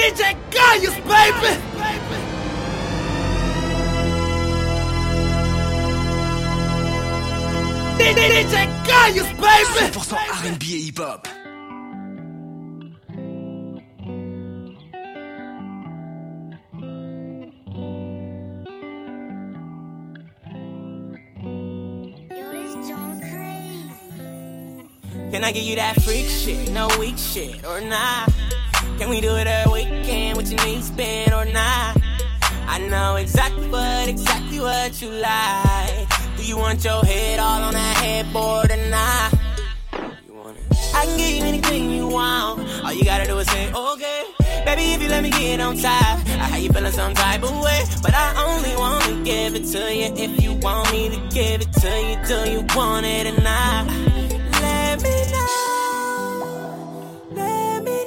DJ Gaius, baby! DJ Gaius, baby! 100% R&B et hip-hop. Can I give you that freak shit, no weak shit, or not? Can we do it every weekend with your knees bent or not? I know exactly what you like. Do you want your head all on that headboard or not? You want it? I can give you anything you want. All you gotta do is say, okay. Baby, if you let me get on top, I how you feeling some type of way. But I only wanna give it to you if you want me to give it to you. Do you want it or not? Let me know. Let me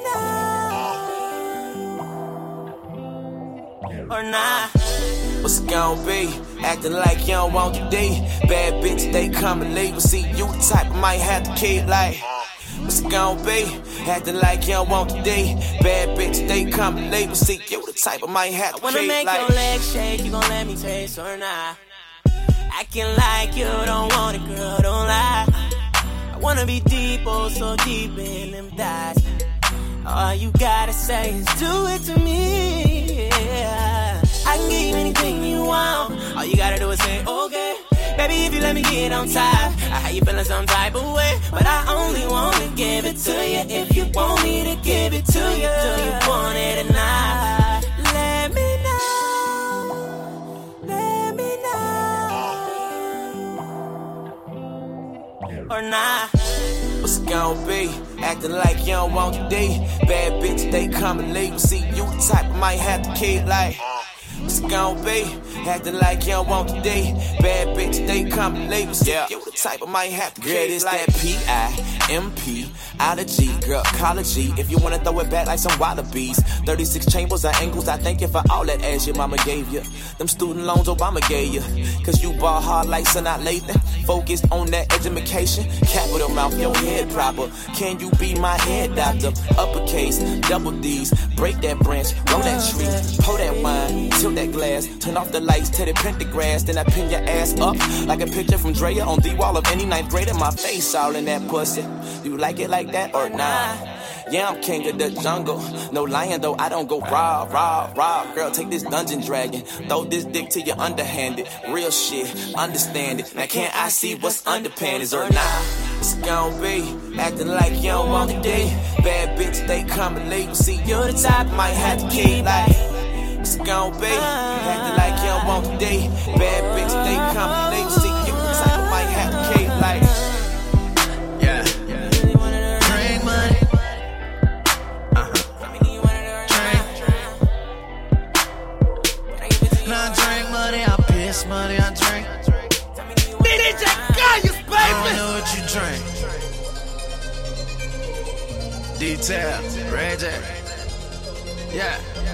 know. Or not. What's it gon' be? Acting like you don't want the D. Bad bitch, they coming late. But see, you the type I might have to keep like. What's it gon' be? Acting like you don't want the D. Bad bitch, they coming late. But see, you the type I might have to keep like. I wanna make your legs shake, you gon' let me taste or not? Acting like you don't want it, girl, don't lie. I wanna be deep, oh so deep in them thighs. All you gotta say is do it to me, yeah. I can give you anything you want. All you gotta do is say, okay. Baby, if you let me get on top, I how you feeling some type of way. But I only wanna give it to you if you want me to give it to you. Do you want it or not? Let me know. Let me know. Or not. What's it gon' be? Acting like you don't want the D. Bad bitch, they coming late. But see, you the type I might have to keep like. What's it gon' be? Acting like you don't want the D. Bad bitch, they coming late. But see, you the type I might have to keep like. Girl, it's that P-I-M-P out of G. Girl, call it G. If you wanna throw it back like some wallabies. 36 chambers and angles, I thank you for all that ass your mama gave you. Them student loans Obama gave you. Cause you ball hard like Sanaa Lathan. Focused on that education. Capital mouth, your head proper. Can you be my head doctor? Uppercase, double D's. Break that branch, roll that tree. Pour that wine, tilt that glass. Turn off the lights, tear the pentagrass. Then I pin your ass up like a picture from Drea on the wall of any ninth grader. My face all in that pussy. You like it like that or not? Yeah, I'm king of the jungle. No lying though, I don't go raw. Girl, take this dungeon dragon. Throw this dick to your underhanded. Real shit, understand it. Now can't I see what's under panties or not? What's it gon' be? Acting like you don't want the D. Bad bitch, they coming late. See, you the type might have to keep like. What's it gon' be? Acting like you don't want the D. Bad bitch, they coming late. See, you the type I might have to keep like. Money I drink. DJ Gaius, baby! I don't know what you drink. Detail, Red Jack. Yeah.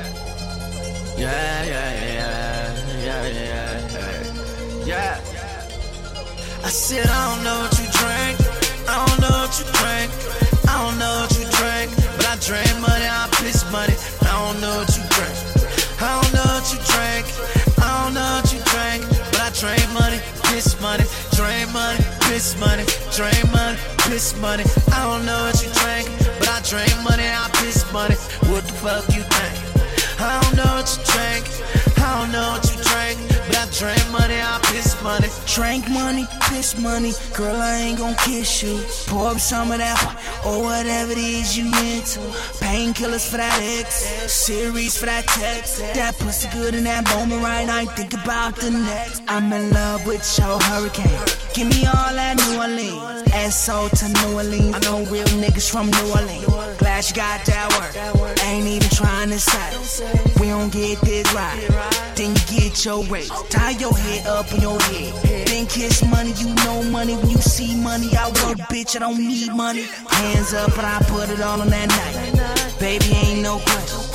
I said I don't know what you drink. I don't know what you drink. I don't know what you drink. But I drink money, I piss money. I don't know what you drink. I don't know what you drink. I don't know what you drink, but I drain money, piss money, drain money, piss money, drain money, piss money. I don't know what you drink, but I drain money, I piss money. What the fuck you think? I don't know what you drink, I don't know what you drink, but I drain money, I piss money. Drink money, piss money, girl I ain't gon' kiss you. Pour up some of that or whatever it is you into. Painkillers for that ex, series for that text. That pussy good in that moment right now, I think about the next. I'm in love with your hurricane. Give me all that New Orleans, SO to New Orleans. I know real niggas from New Orleans. Glad you got that work, ain't even trying to settle. We don't get this right, then you get your raise. Tie your head up on your head, then kiss money. You know money when you see money. I work, bitch, I don't need money. Hands up, but I put it all on that night. Baby, ain't no question.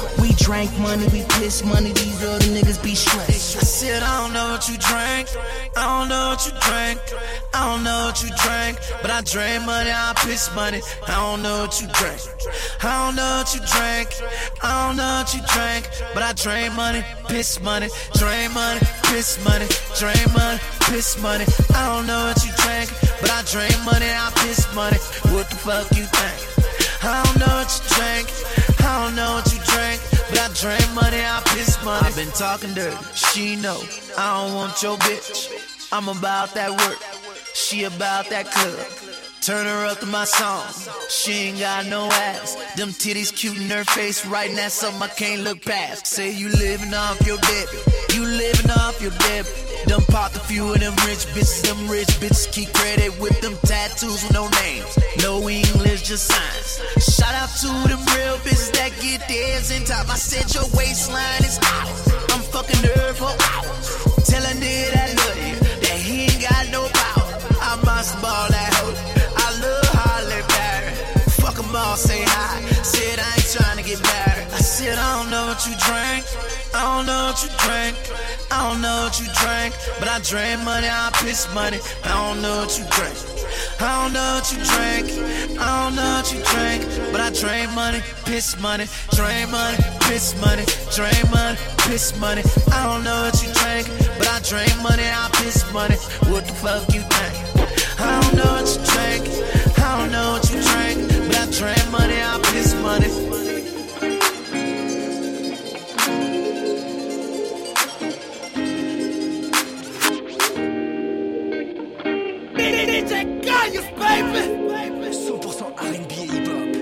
We drank money, we pissed money, these other niggas be stressed. I said, I don't know what you drank. I don't know what you drank. I don't know what you drank. But I drank money, I piss money. I don't know what you drank. I don't know what you drank. I don't know what you drank. But I drank money, piss money. Drain money, piss money. Drain money, piss money. I don't know what you drank. But I drank money, I piss money. What the fuck you think? I don't know what you drank. I don't know what you drank. But I drank money, I piss money. I've been talking dirty, she know I don't want your bitch. I'm about that work, she about that club. Turn her up to my song, she ain't got no ass. Them titties cute in her face right now, something I can't look past. Say you living off your debit, you living off your debit. Done popped a few of them rich bitches keep credit with them tattoos with no names. No English, just signs. Shout out to them real bitches that get theirs in top. I said your waistline is out. I'm fucking her for hours. Tell a nigga that love you, that he ain't got no power. I must ball that hoe. I love Holly Berry. Fuck 'em all, say hi. Said I ain't trying to get married. I said I don't know what you drank. I don't know what you drank. I don't know what you drank. But I drank money, I piss money. I don't know what you drank. I don't know what you drank. I don't know what you drank. But I drank money, piss money. Drain money, piss money. Drain money, piss money. I don't know what you drank. But I drank money, I piss money. What the fuck you think? I don't know what you drank. I don't know what you drank. But I drank money, I piss money. DJ Gaius, baby. 100% R&B et hip-hop.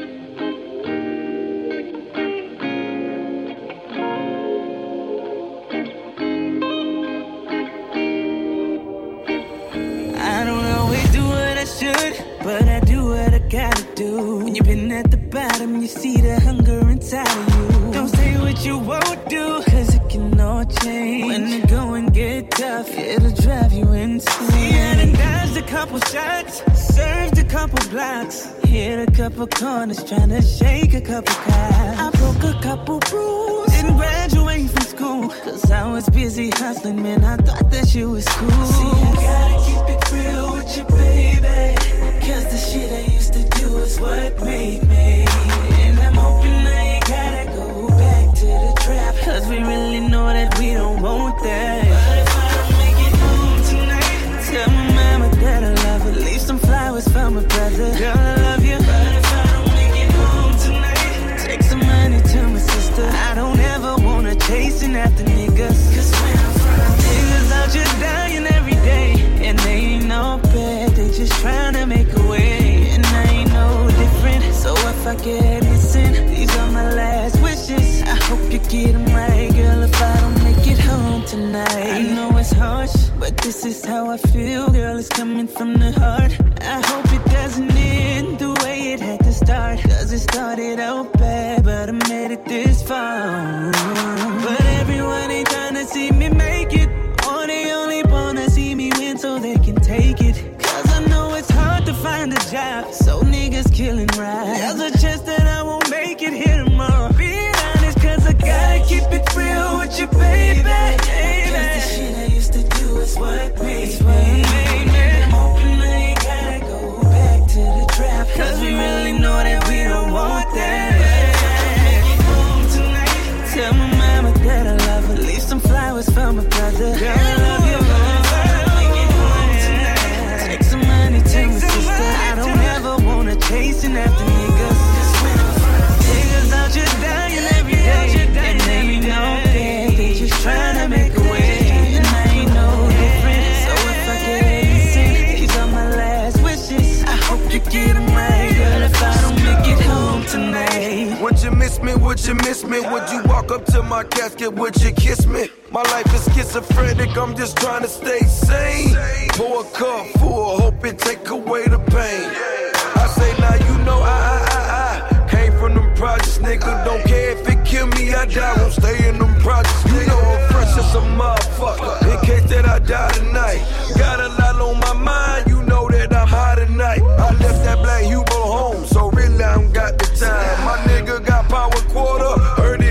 I don't always do what I should, but I do what I gotta do. When you've been at the bottom, you see the hunger inside of you. Don't say what you won't do, cause it can all change. When the going get tough, it'll drive you insane. See, I done dodged a couple shots, served a couple blocks, hit a couple corners, trying to shake a couple cops. I broke a couple rules, didn't graduate from school, cause I was busy hustling, man, I thought that shit was cool. See, I gotta keep it real with you, baby, cause the shit I used to do is what made me. And I'm hoping I ain't gotta go back to the trap, cause we really know that we don't want that. But if I don't make it home tonight, tell my mama that I love her, leave some flowers for my brother. Girl, I love you. But if I don't make it home tonight, take some money to my sister. I don't ever wanna chasing after niggas, cause when I'm from niggas out just dying every day, and they ain't no bad, they just trying to make a way, and I ain't no different. So if I get missing, these are my last wishes. I hope you get them right, girl, if I don't make it home tonight. I know it's harsh, but this is how I feel, girl, it's coming from the heart. I hope it doesn't end the way it had to start, cause it started out bad, but I made it this far. But everyone ain't trying to see me make it, or they only wanna see me win so they can take it. Cause I know it's hard to find a job, so niggas killing right. There's a chance that I won't make it here tomorrow. Being honest, cause I gotta keep it real with you, baby. Cause the shit I used to do is what made me. I'm hoping I ain't gotta go back to the trap, cause we really know that we don't want that. Tell my mama that I love her, leave some flowers for my brother. Girl, I love you. Take some money to my sister. I don't ever wanna chasing after niggas. Niggas out just dying every day, and they ain't no bad, they just tryna make a way, and I ain't no different. So if I get missing, these are my last wishes. I hope you get them right, girl, if I don't make it home tonight. Would you miss me? Would you miss me? Would you walk up to my casket? Would you kiss me? My life is schizophrenic, I'm just trying to stay sane. Pour a cup full, hope it take away the pain. I say now you know I came from them projects, nigga. Don't care if it kill me, I die. Won't stay in them projects. You know I'm fresh as a motherfucker. In case that I die tonight, got a lot on my mind. You know that I'm high tonight. I left that black Hugo home, so really I don't got the time. My nigga got power quarter, heard it.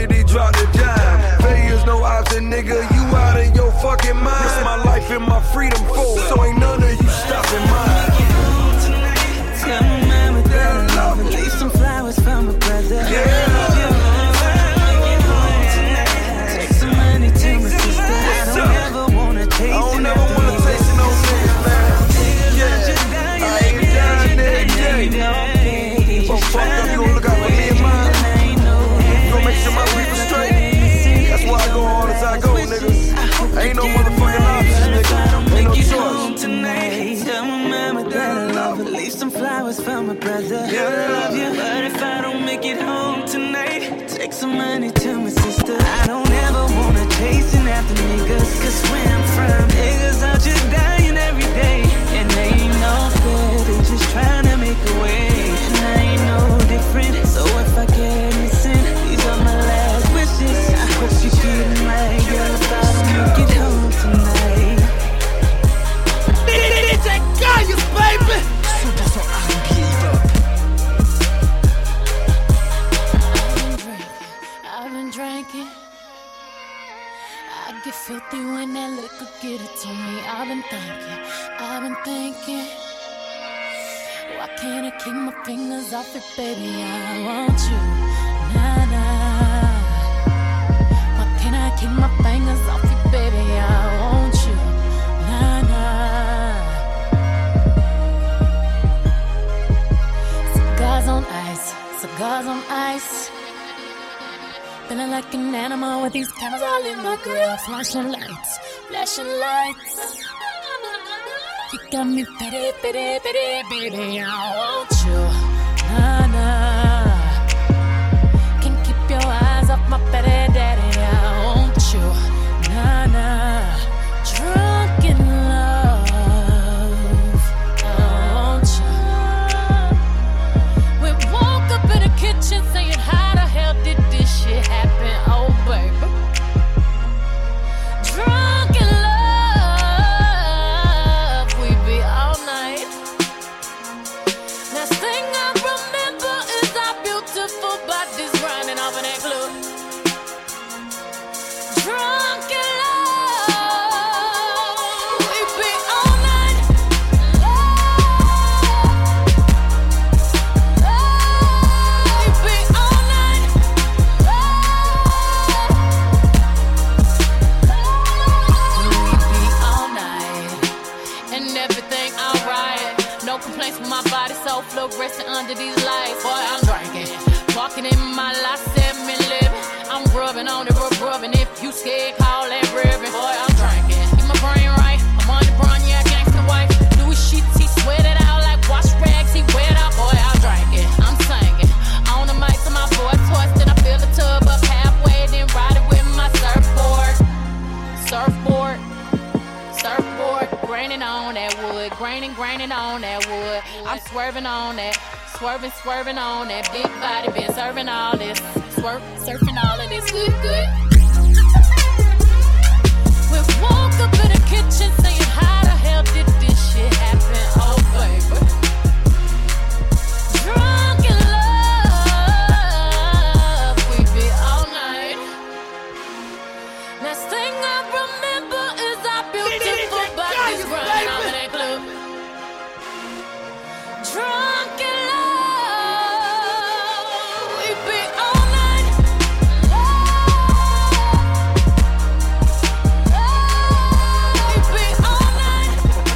brother. Take some money to my sister. I don't ever wanna taste it. I don't never wanna taste it, no niggas, man. Well, fuck up, you gon' look out for me and mine. You gon' make sure my people straight. That's why I go hard as I go, nigga. Ain't no motherfucking options, nigga. Ain't no choice. Tonight, tell my mama that I love her. Leave some flowers for my brother. I love you, but if I don't make it home tonight, take some money to my sister. I don't ever wanna chasing after niggas, cause where I'm from, niggas are just dying every day. And they ain't no fair, they just trying to make a way. And I ain't no different, so if I get missing, these are my last wishes. I hope you get my girl if I don't make it home tonight. DJ Gaius, baby. I've been drinking. I get filthy when that liquor get it to me. I've been thinking. Why can't I keep my fingers off it, baby? I want you, nah, nah. Why can't I keep my fingers off it, baby? I want you, nah, nah. Cigars on ice. Feeling like an animal with these cameras all in my grill. Flashing lights. You got me pity, baby. I want you, nah, nah. Can't keep your eyes off my petty daddy. I want you, nah, nah. Drunk in love, I want you. We woke up in the kitchen saying, how the hell did this shit happen? Oh, baby. Drunk in love, we be all night. Last thing I remember is our beautiful bodies grinding off in that club. Drunk in love, we be all night. We be all night. We be all night. And everything alright. No complaints with my body, so fluorescent under these lights. Boy, I'm drinking. Walking in my life, 7 living. I'm rubbing on the rubbing. If you scared, call that ribbon. Boy, I'm drinking. Keep my brain right. I'm on the brown, yeah, gangsta wife. Louis sheets, he sweat it out like wash rags. He wet out, boy, I'm drinking. I'm singing. On the mic to my voice twisted. I fill the tub up halfway, then ride it with my surfboard. Graining on that wood. Graining on that wood. I'm swerving on that. Swerving on that big body. Been serving all this. Surfing all of this. Good. We woke up in the kitchen saying, how the hell did this shit happen? Oh, baby. Drunk in love, we be all night. Last thing I remember is our beautiful bodies running off in that club. Drunk in love, we be all night. We be all night.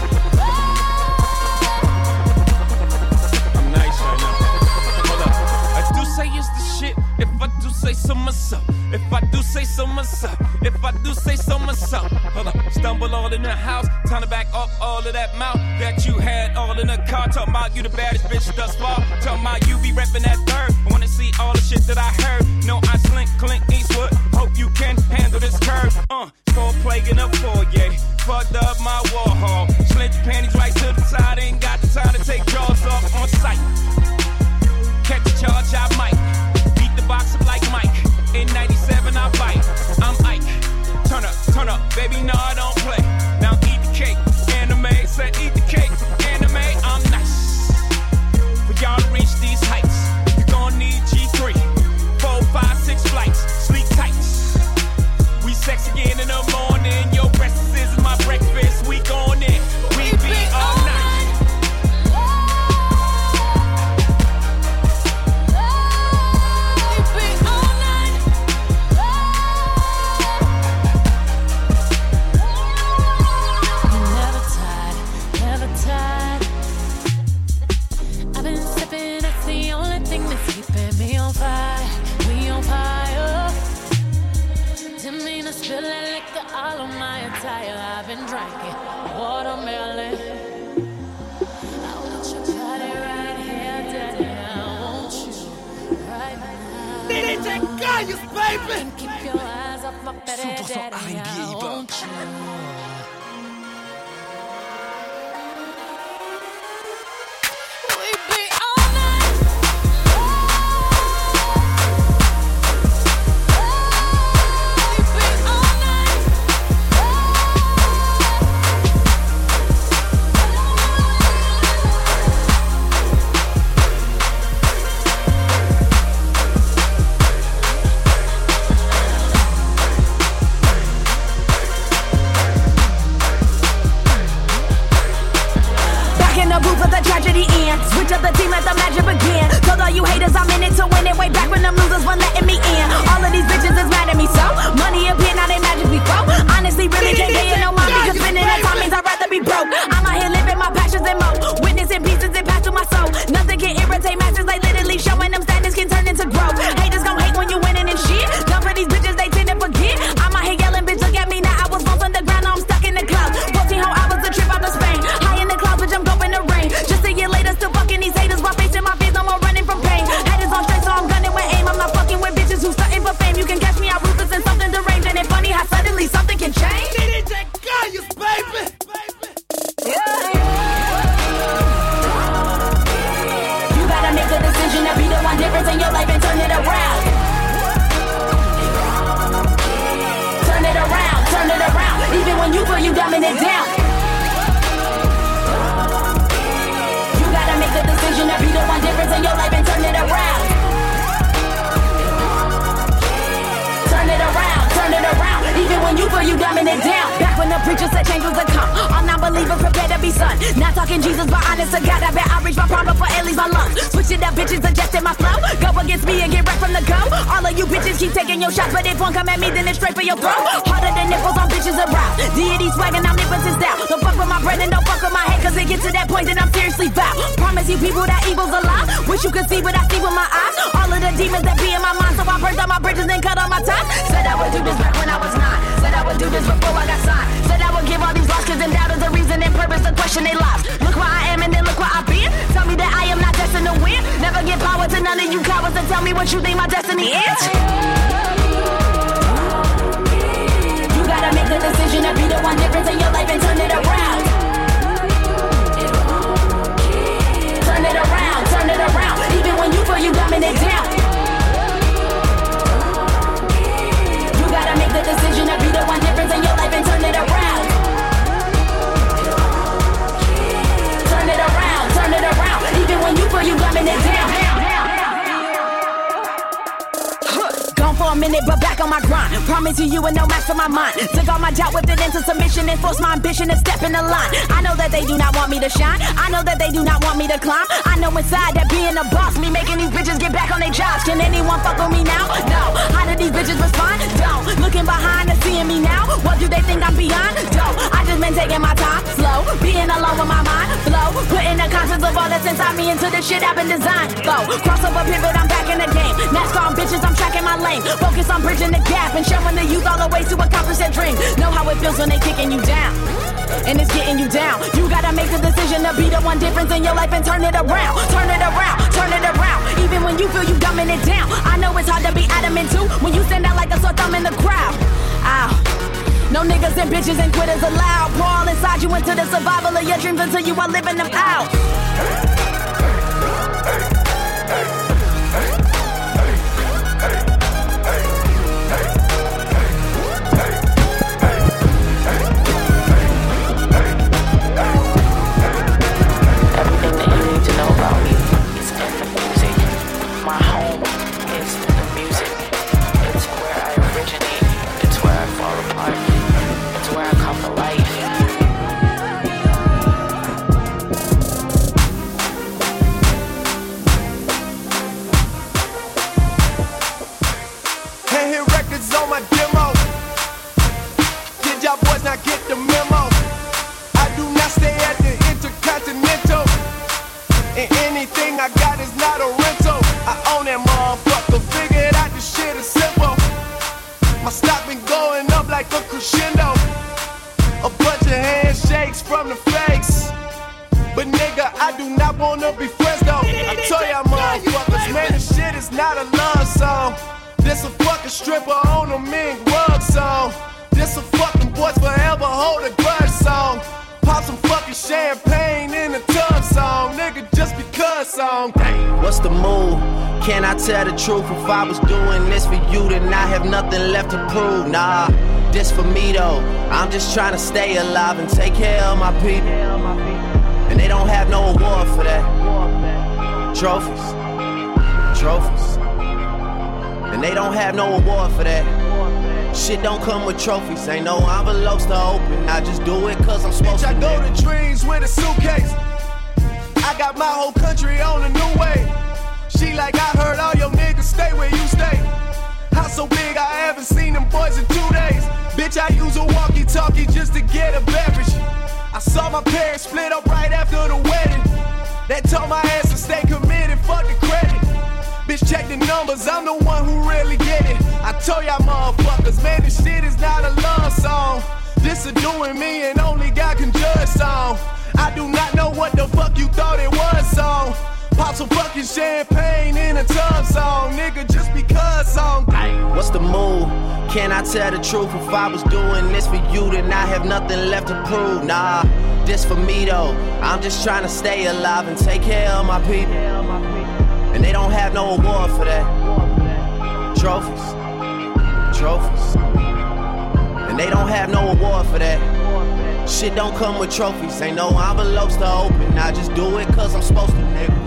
I'm nice right now. Hold up. I do say it's the shit. If I do say so myself. If I do say so myself. If I do say so myself. Hold up. Stumble all in the house. Time to back up all of that mouth that you had all in the car. Talking about you the baddest bitch thus far. Talking about you be reppin' that third. I wanna see all the shit that I heard. No, I slink Clint Eastwood. Hope you can handle this curve. For plague in a foyer. Fucked up my Warhol. Slint your panties right to the side. Ain't got the time to take jaws off on sight. Catch a charge, I might. Beat the box up like Mike. In 97, I bite. I'm Ike. Turn up, baby, no, I don't play. Now eat the cake, anime. Said eat the cake, anime. I'm nice. For y'all to reach these heights, you gon' need papaya, I've been drinking watermelon. I want your body right here, daddy. I want you right now. DJ Gaius, baby. Keep your eyes off my bed, daddy. I want you. Switch up the team, let the magic begin. Told all you haters I'm in it to win it. Way back when them losers weren't letting me in. All of these bitches is mad at me, so money appear, now they magic me flow. Honestly, really can't get no mind because spending that time means I'd rather be broke. I'm out here living my passions and mo. Witnessing pieces and pass through my soul. Nothing can irritate masters, like literally showing them standards can turn into growth. Haters gon' hate when you winning and shit. Dumb for these bitches, they tend to forget. I'm out here yelling, bitch, look at me now. I was once on the ground, now I'm stuck in the clouds. 14 whole hours a trip out to Spain. High in the clouds, bitch, I'm going the rain. Just a year later, still fucking these haters while facing my fears. No more running from pain. Haters on straight, so I'm gunning with aim. I'm not fucking with bitches who stunting for fame. You can catch me out ruthless and something deranged. And it's funny how suddenly something can change. DJ Gaius, baby. Yeah. You gotta make a decision to be the one difference in your life and turn it around. Turn it around, turn it around. Even when you feel you dumbing it down. You gotta make a decision to be the one difference in your life and turn it around. Turn it around, turn it around. Even when you feel you dumbing it down. Back when the preacher said change was to come. All non-believers prepare to be son. Not talking Jesus, but honest to God, I bet I reach my prime before it leaves my lungs. Switch it up, bitches, adjusting my flow. Go against me and get right from the go. All of you bitches keep taking your shots, but if one come at me, then it's straight for your throat. Harder than nipples on bitches around. Deity swagging, I'm omnipotence down. Don't fuck with my brain and don't fuck with my head, cause it gets to that point that I'm seriously foul. Promise you people that evil's a lie. Wish you could see what I see with my eyes. All of the demons that be in my mind, so I burned all my bridges and cut all my ties. Said I would do this back when I was 9. Said I would do this before I got signed. Said I would give all these lost kids and doubters a reason and purpose to question their lives. Look where I am and then look where I've been. Tell me that I am not destined to win. Never give power to none of you cowards and tell me what you think my destiny is. You gotta make the decision to be the one difference in your life and turn it around. Turn it around, turn it around. Even when you feel you dumbing it down. You gotta make the decision to be the one difference in your life and turn it around. Turn it around, even when you feel you dumbing it down. Gone for a minute, but back on my grind. Promise you and no match for my mind. Took all my doubt, whipped it into submission and forced my ambition to step in the line. I know that they do not want me to shine. I know that they do not want me to climb. I know inside that being a boss, me making these bitches get back on their jobs. Can anyone fuck with me now? No. How do these bitches respond? Don't. Looking behind and seeing me now. What do they think I'm beyond? Don't. I just been taking my time, slow, being alone with my mind, flow, putting the concepts of all that's inside me into the shit I've been designed. Go. Crossover pivot, I'm back in the game. NASCAR on bitches, I'm tracking my lane. Focus on bridging the gap and showing the youth all the ways to accomplish their dream. Know how it feels when they kicking you down, and it's getting you down. You gotta make the decision to be the one difference in your life and turn it around. Turn it around, turn it around. Even when you feel you dumbing it down. I know it's hard to be adamant too when you stand out like a sore thumb in the crowd. Ow. No niggas and bitches and quitters allowed. Pour all inside you into the survival of your dreams until you are living them out. Everything that you need to know about me is in the music. My home is in the music. It's where I originate. It's where I fall apart. It's where I come to life. Can't hear records on my demo. Did y'all boys not get the memo? I do not stay at the Intercontinental, and anything I got is not a rental. I own that motherfucker, figured out this shit is simple. My stock been going up like a crescendo. A bunch of handshakes from the fakes. But nigga, I do not wanna be friends though. I tell y'all motherfuckers, man, this shit is not a love song. This a fucking stripper on a mink rug song. This a fucking boys forever hold a grudge song. Pop some fucking champagne in a tub song. Nigga, just because song. What's the move? Can I tell the truth? If I was doing this for you, then I have nothing left to prove. Nah, this for me though. I'm just trying to stay alive and take care of my people. And they don't have no award for that. Trophies. And they don't have no award for that. Shit don't come with trophies. Ain't no envelopes to open. I just do it cause I'm supposed to. I go to dreams with a suitcase. I got my whole country on a new way. She like, I heard all your niggas stay where you stay. House so big I haven't seen them boys in 2 days. Bitch, I use a walkie-talkie just to get a beverage. I saw my parents split up right after the wedding. That told my ass to stay committed, fuck the credit. Bitch, check the numbers, I'm the one who really get it. I told y'all motherfuckers, man, this shit is not a love song. This a doing me and only God can judge song. I do not know what the fuck you thought it was song. Pop some fucking champagne in a tub song. Nigga, just because song. What's the move? Can I tell the truth? If I was doing this for you, then I have nothing left to prove. Nah, this for me though. I'm just trying to stay alive and take care of my people. And they don't have no award for that. Trophies. And they don't have no award for that. Shit don't come with trophies. Ain't no envelopes to open. I just do it cause I'm supposed to, nigga.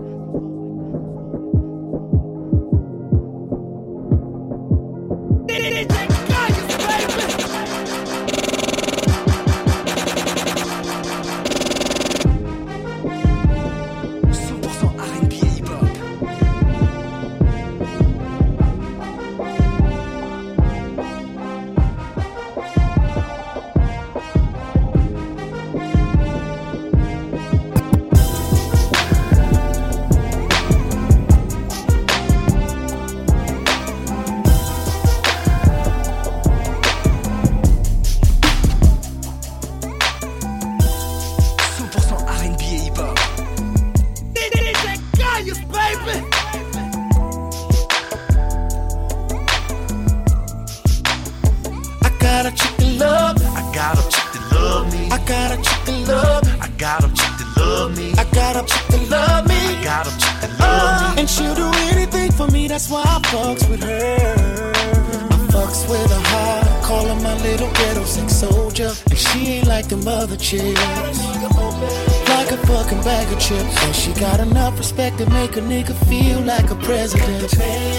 Like a fucking bag of chips. And she got enough respect to make a nigga feel like a president.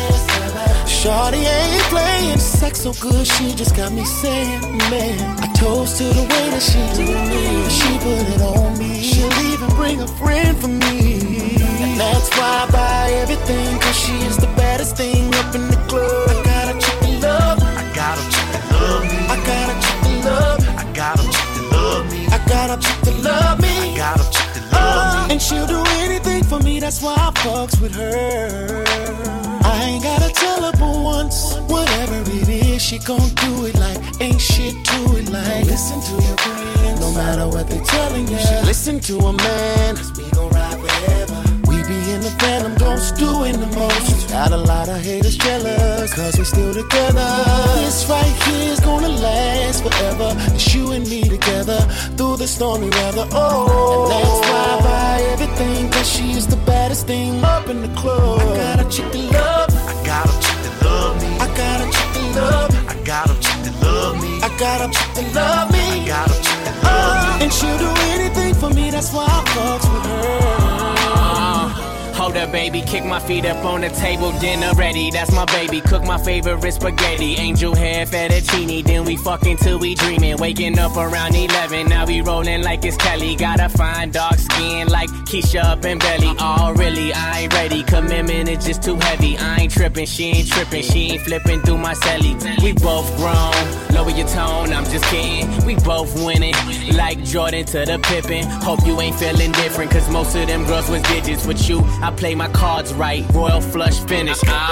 Shawty ain't playing sex so good, she just got me saying, man, I toast to the way that she do me. She put it on me. She'll even bring a friend for me. And that's why I buy everything, cause she is the baddest thing up in the club. I got a chick that love. I got a chick that love me. I got a chick that love. I got a chick that love me. I got a chick that love me. I got a chick that love me. And she'll do anything for me, that's why I fucks with her. I ain't gotta tell her but once. Whatever it is, she gon' do it like ain't shit to it like. Listen to your friends, no matter what they telling you. Listen to a man, cause we gon' ride forever. We be in the phantom, don't do in the most. Got a lot of haters jealous, cause we still together. This right here is gonna last forever. It's you and me together, through the stormy weather. Oh, and that's why I buy everything, cause she is the baddest thing up in the club. I got a chick that love. I got a chick that love me. I got a chick that love. I got a chick that love me. I got a chick that love me. I got a chick that love me. And she'll do anything for me, that's why I fucks with her. Hold up, baby, kick my feet up on the table, dinner ready. That's my baby, cook my favorite spaghetti. Angel hair, fettuccine, then we fucking till we dreaming. Waking up around 11, now we rolling like it's Kelly. Got a fine dark skin like Keisha up in belly. Oh, really, I ain't ready, commitment is just too heavy. I ain't tripping, she ain't tripping, she ain't flipping through my celly. We both grown, lower your tone, I'm just kidding. We both winning, like Jordan to the Pippen. Hope you ain't feeling different, cause most of them girls was digits. With you, I play my cards right, royal flush finish. Oh.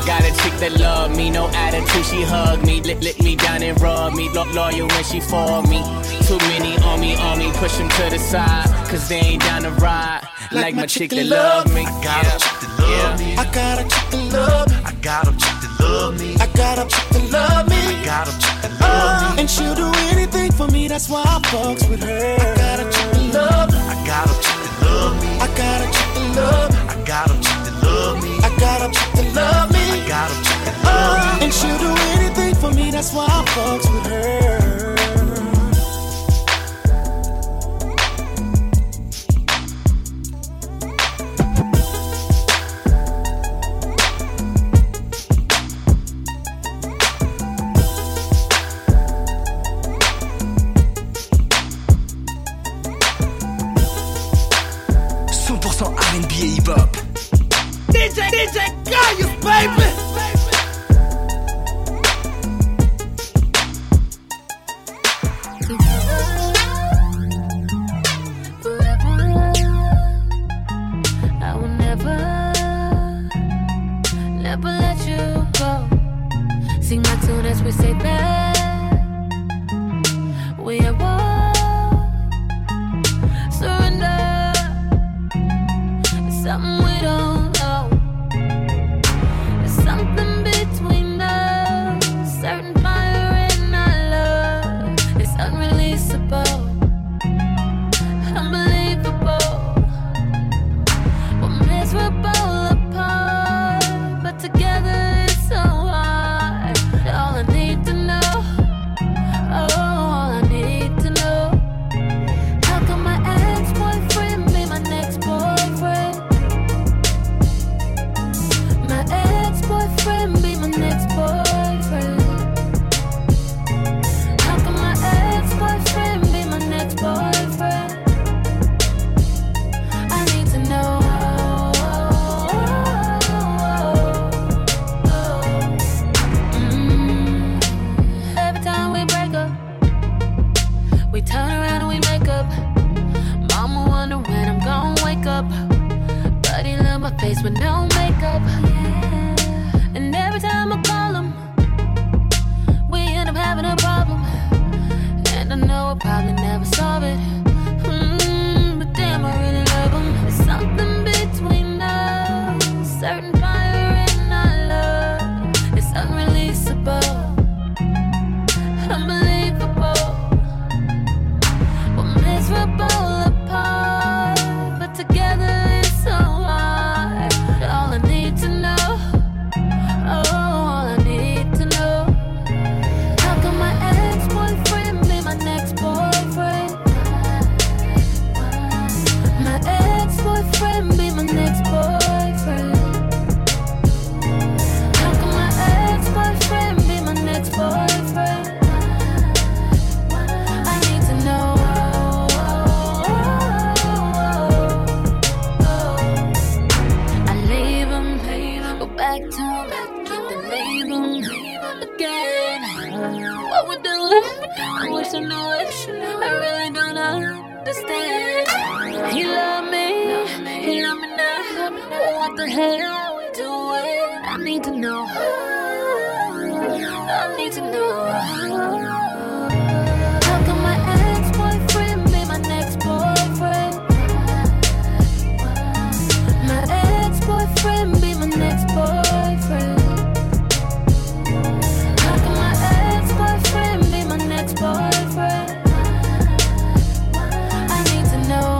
Got a chick that love me, no attitude, she hug me, lick me down and rub me, loyal when she for me. Too many on me, push them to the side, cause they ain't down to ride. Like my chick that love me. I got a chick that love me. I got a chick that love me. I got a chick that love me. I got a chick that love me. I got a chick that love me. And she'll do anything for me, that's why I fucks with her. I got a chick that love me. I got a chick that love me. I got a chick that love me. I got a chick that love me. I got a chick that love me. I got a chick that love me. And she'll do anything for me, that's why I fucks with her. 100% R&B et hip-hop. DJ Gaius, baby. We say that we are one. Surrender. It's something we don't know. There's something between us. Certain fire in our love. It's unreleasable, unbelievable. We're miserable apart, but together it's so hard. All I need to know, oh, all I need to know. How come my ex-boyfriend be my next boyfriend? My ex-boyfriend be my next boyfriend. How come my ex-boyfriend be my next boyfriend? I need to know. Turn around and we make up. Mama wonder when I'm gonna wake up. Buddy love my face with no makeup. Yeah. And every time I call him, we end up having a problem. And I know I'll probably never solve it. But damn, I really love him. There's something between us. Certain fire in our love. It's unreleasable, unbelievable. Miserable apart, but together it's so hard. All I need to know, oh, all I need to know. How come my ex-boyfriend be my next boyfriend? My ex-boyfriend be my next boyfriend. How come my ex-boyfriend be my next boyfriend? I need to know. Back to then leave him again. What we're doing, I wish I knew it. I really don't understand. He loved me now. What the hell we doing? I need to know. I need to know. How come my ex-boyfriend be my next boyfriend? My ex-boyfriend be my next boyfriend. How come my ex-boyfriend be my next boyfriend? I need to know.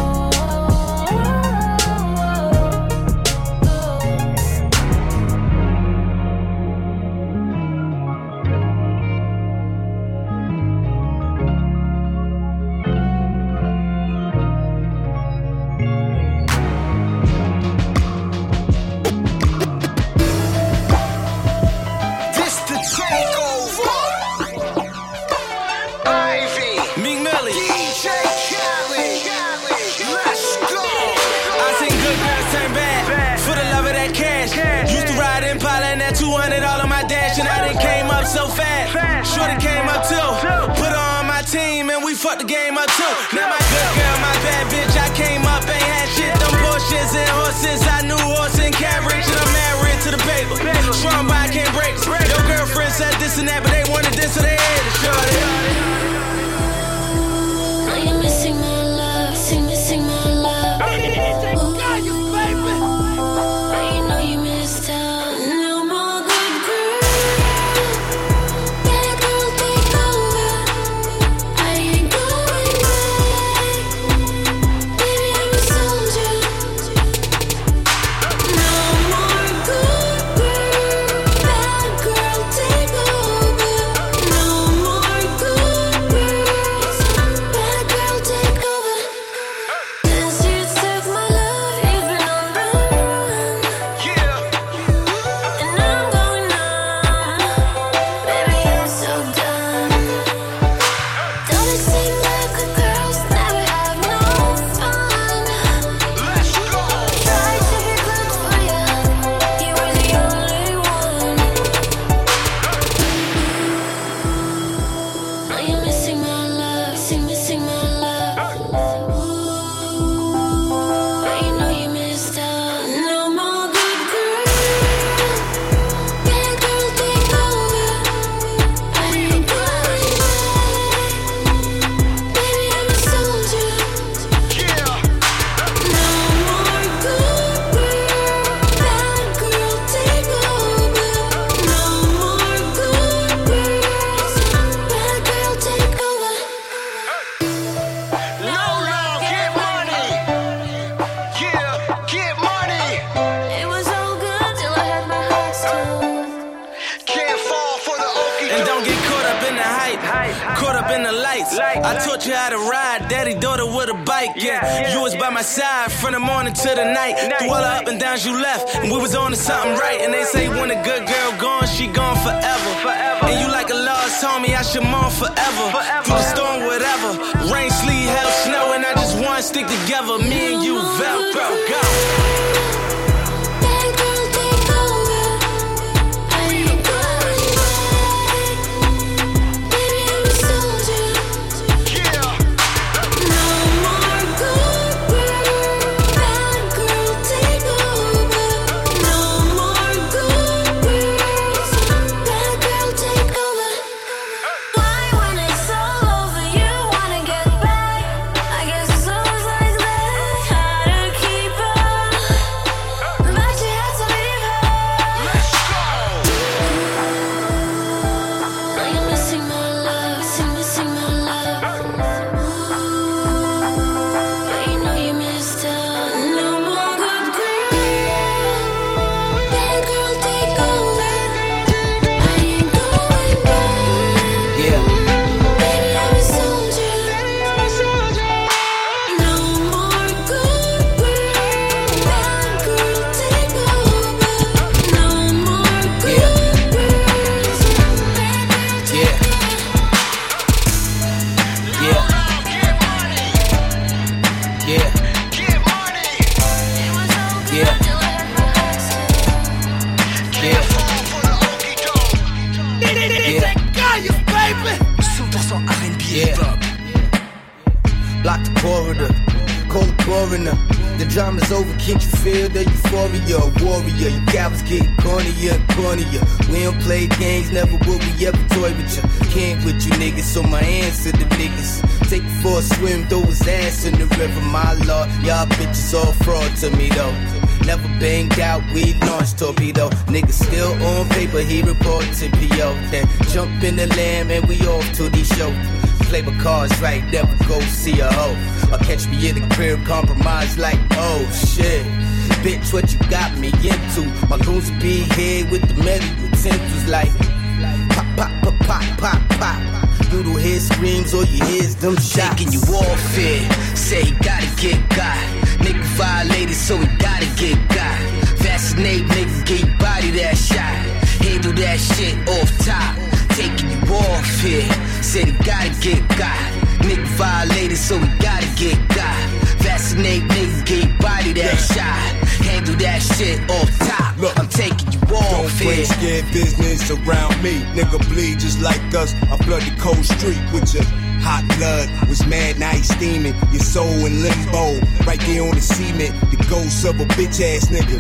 So fast, shorty came up too. Put her on my team and we fucked the game up too. Now my good girl, my bad bitch, I came up, ain't had shit. Them Porsches and horses, I knew horse and carriage. And I'm married to the paper. strong, but I can't break it. Your girlfriend said this and that, but they wanted this, so they had to show it. Now you're missing my love, missing my love. Ooh, baby. But you know you missed out. No more good girl. Bad girl, take over. I ain't going back. Baby, I'm a soldier. No more good girl. Bad girl, take over. No more good girls. Bad girl, take over. This year took my love, you've been on the run. And I'm going on. Baby, I'm so done. Don't it seem like good girls never have no fun? Let's go. Tried to be good for you, you were the only one. Now you're missing my love, missing my love. But you know you missed out. No more good girl. Bad girl, take over. I ain't going back. Baby, I'm a soldier. No more good girl. Bad girl, take over. No more good girls. Bad girl, take over. Lola, get money. Yeah, get money. It was all good till I had my heart stolen. Can't fall for the okie And don't get caught up in the hype, caught up in the lights. I taught you how to ride, daddy daughter with a bike. Yeah, you was by my side from the morning to the night. Through all the up and downs you left, and we was on to something right. And they say when a good girl gone, she gone forever. And you like a lost homie, I should mourn forever. Through the storm, whatever, rain, sleet, hell, snow, and I just want to stick together. Me and you, Velcro, go. Bad girl, take over. I ain't going back. Baby, I'm a soldier. No more good girl. Bad girl, take over. No more good girls. Bad girl, take over. Why when it's all over you wanna get back? I guess it's always like that. How to keep up, but you had to leave her. Now you're missing my love, missing my love. But you know you missed out. No more good girl. Bad girl, take over. I ain't going back. Yeah. Baby, I'm a soldier. No more good girl. Bad girl, take over. No more good girls. Yeah. Yeah. Yeah. Yeah. Yeah. Gaius, baby. 100% R&B Yeah. hip-hop. Block the corridor, call the coroner. The drama's over, can't you feel the euphoria? Warrior, you cowards get cornier and cornier. We don't play games, never will we ever toy with you. Can't with you niggas, so my answer to niggas. Take it for a swim, throw his ass in the river, my lord. Y'all bitches all fraud to me though. Never banged out, we launched torpedo. Niggas still on paper, he reported to PO. Then jump in the lamb and we off to these shows. Play my cards right, never go see a hoe. Or catch me in the crib, compromise like, oh shit. Bitch, what you got me into? My goons will be here with the metal utensils like pop, pop, pop, pop, pop, pop. You don't hear screams, all you hear is them shots. Taking you off it, say he gotta get got. Nigga violated, so he gotta get got. Vaccinate, nigga, get your body that shot. Handle that shit off top. Taking you off it, said he gotta get got. Nigga violated, so he gotta get got. Vaccinate, nigga, get your body that shot. Handle that shit off top. Look, I'm taking you off don't bring it. scared business around me. Nigga bleed just like us. I flood the cold street with your hot blood. Was mad, now he's steaming. Your soul in limbo. Right there on the cement. The ghost of a bitch ass nigga.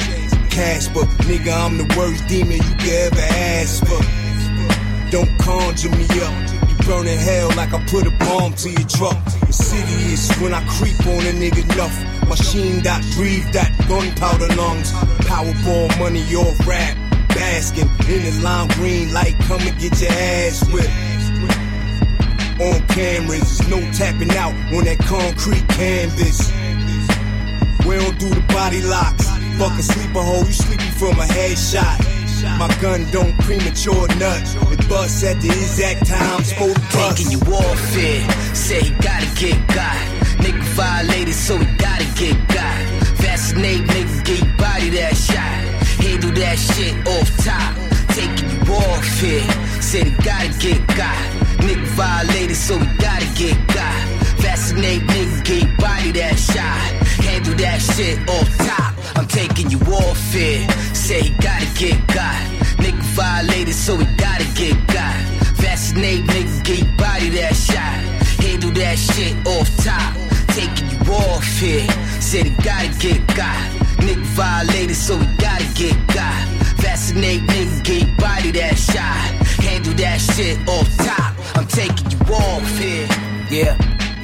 cash, but nigga, I'm the worst demon you could ever ask for. Don't conjure me up. You burn in hell like I put a bomb to your truck. Insidious when I creep on a nigga enough. Machine that breathe that gunpowder lungs. Powerball money off rap. Basking in the lime green light. Come and get your ass whipped. On cameras, there's no tapping out on that concrete canvas. We don't do the body locks. Fuck a sleeper hole, you sleepy from a headshot. My gun don't premature nut. It busts at the exact time, supposed to bust. Taking you off it, say he gotta get got. Nigga violated, so he gotta get got. Vaccinate, nigga, get your body that shot. Handle that shit off top. Taking you off it, said he gotta get got. Nigga violated, so he gotta get got. Vaccinate, nigga, get your body that shot. Handle that shit off top. I'm taking you off it. Say he gotta get got. Nigga violated, so he gotta get got. Vaccinate, nigga, get your body that shot. Handle that shit off top. Taking you off it. Said he gotta get got. Nigga violated, so he gotta get got. Vaccinate, nigga, get your body that shot. Handle that shit off top. I'm taking you off it. Yeah.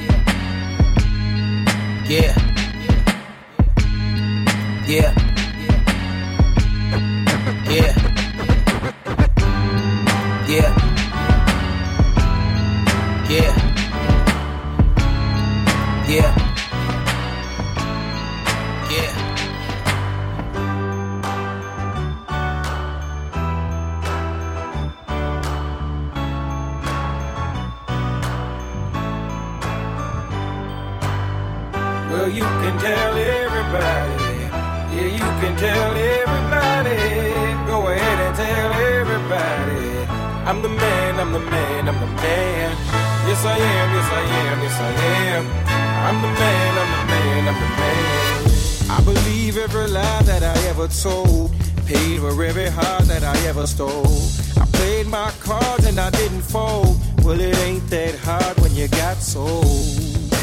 Yeah. Yeah. Yeah. Yeah. Yeah. Yeah. Yeah. Well, you can tell everybody. Yeah, you can tell everybody. Go ahead and tell everybody. I'm the man, I'm the man, I'm the man. Yes, I am, yes, I am, yes, I am. I'm the man, I'm the man, I'm the man. I believe every lie that I ever told. Paid for every heart that I ever stole. I played my cards and I didn't fold. Well, it ain't that hard when you got sold.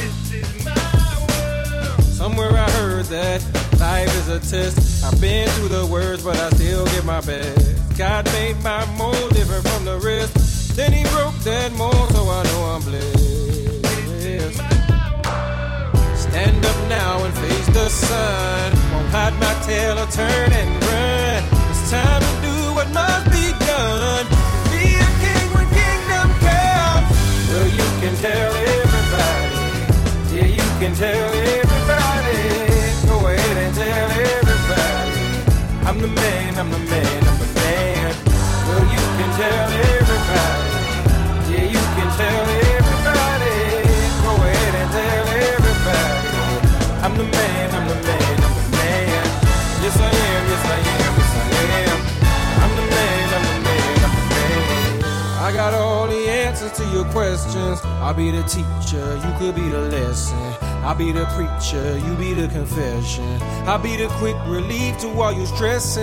Somewhere I heard that life is a test. I've been through the worst, but I still give my best. God made my mold different from the rest. Then he broke that mold, so I know I'm blessed. Stand up now and face the sun. Won't hide my tail or turn and run. It's time to do what must be done. Be a king when kingdom comes. Well, you can tell everybody. Yeah, you can tell everybody. Go ahead and tell everybody. I'm the man, I'm the man, I'm the man. Well, you can tell everybody. Yeah, you can tell everybody. Go ahead and tell everybody. I'm the man, I'm the man, I'm the man. Yes, I am, yes, I am, yes, I am. I'm the man, I'm the man, I'm the man. I got all the answers to your questions. I'll be the teacher, you could be the lesson. I'll be the preacher, you be the confession. I'll be the quick relief to all you stressing.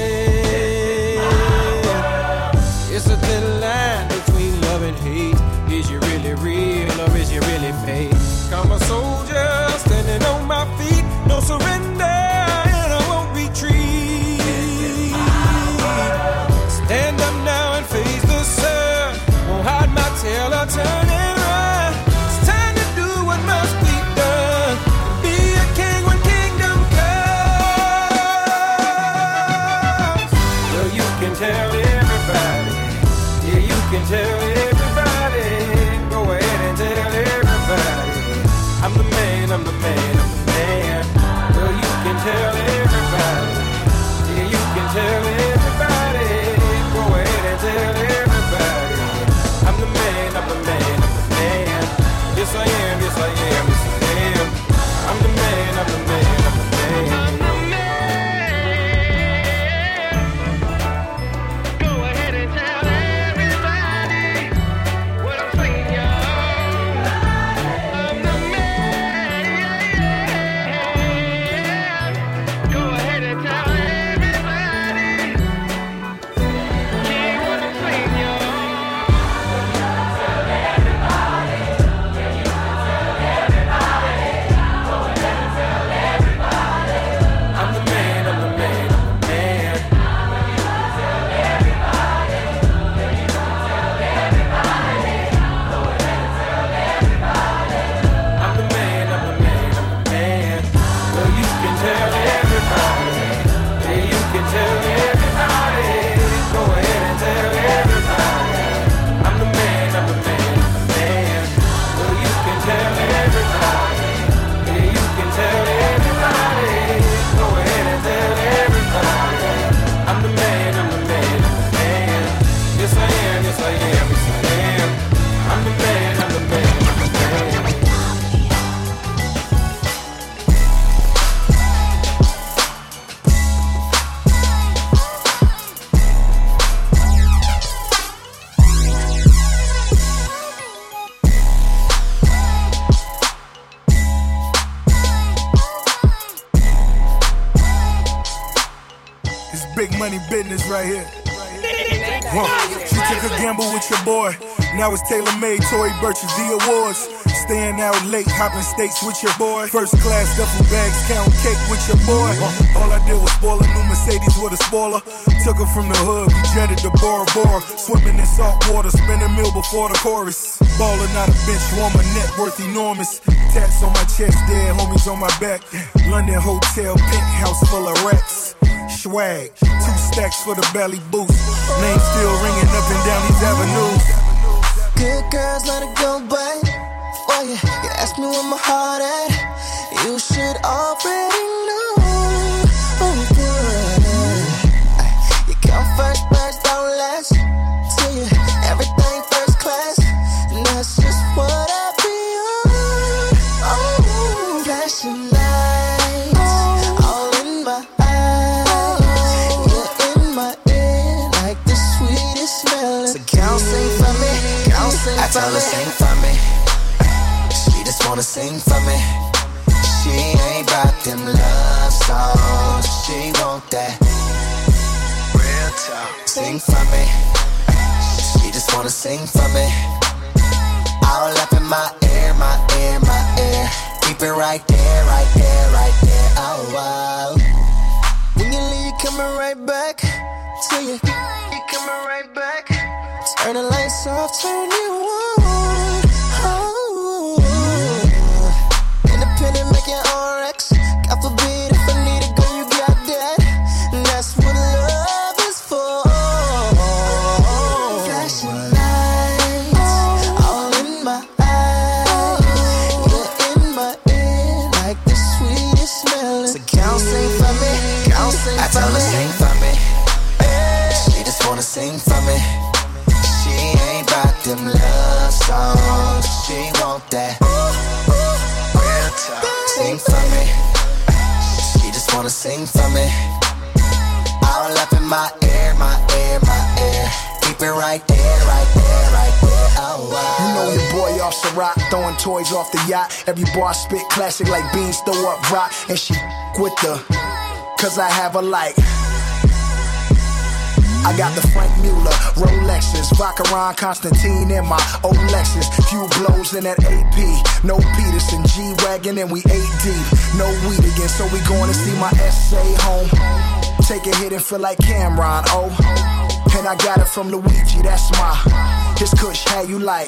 It's a thin line between love and hate. Is you really real or is you really fake? I'm a soldier standing on my feet. No surrender and I won't retreat. Stand up now and face the sun. Won't hide my tail or turn and run. It's time to do what must be done. Be a king when kingdom comes. Well, you can tell everybody. Yeah, you can tell everybody. Go ahead and tell everybody. I'm the man, I'm the man, I'm the man. Well, you can tell everybody. Yeah, you can tell everybody. Go ahead and tell everybody. I'm the man, I'm the man, I'm the man. Yes, I am, yes, I am, yes, I am. I'm the man, I'm the man, I'm the man. I'm the man. Go ahead and tell everybody. money business right here. She took a gamble with your boy. Now it's tailor-made, Tory Burch's the awards. Staying out late, hopping states with your boy. First class duffel bags, count cake with your boy. All I did was spoil a new Mercedes with a spoiler. Took her from the hood, we jetted to Bora Bora. Swimming in salt water, spin a meal before the chorus. Ballin' out a bench warmer, net worth enormous. Tats on my chest, dead homies on my back. London hotel, penthouse full of racks. Swag, 2 stacks for the belly boost. Name still ringing up and down these avenues. Good girls, let it go, but oh yeah, you ask me where my heart at. You should already know. Oh good, you come first, first, don't last. See you, everything first class, and that's just what I be on. Oh, flashing lights, all in my eyes. You're in my ear like the sweetest melody. So count sing for me. I tell her sing for me. She just wanna sing for me. She ain't bout them love songs. She want that real talk. Sing for me. She just wanna sing for me. All up in my ear, my ear, my ear. Keep it right there, right there, right there. Oh wow. When you leave, you coming right back to you. You coming right back. Turn the lights off, turn you on. Oh, independent, make your own Rex. God forbid if I need to go, you got that. And that's what love is for. Flashing lights, all in my eyes. You're in my ear like the sweetest melody. So count sing for me, count sing for me. I tell her sing for me. She just wanna sing for me. Them love songs, she want that real talk. Sing for me. She just wanna sing for me. All up in my ear, my ear, my ear. Keep it right there, right there, right there. Oh wow. You know your boy off Ciroc, throwing toys off the yacht. Every bar spit classic like beans, throw up rock. And she with the, cause I have a like. I got the Frank Mueller, Rolexes, Vacheron Constantine in my old Lexus. Few blows in that AP, no Peterson, G-Wagon and we 8 deep. No weed again, so we going to see my essay home. Take a hit and feel like Cameron, oh. And I got it from Luigi, that's my, his kush, how you like.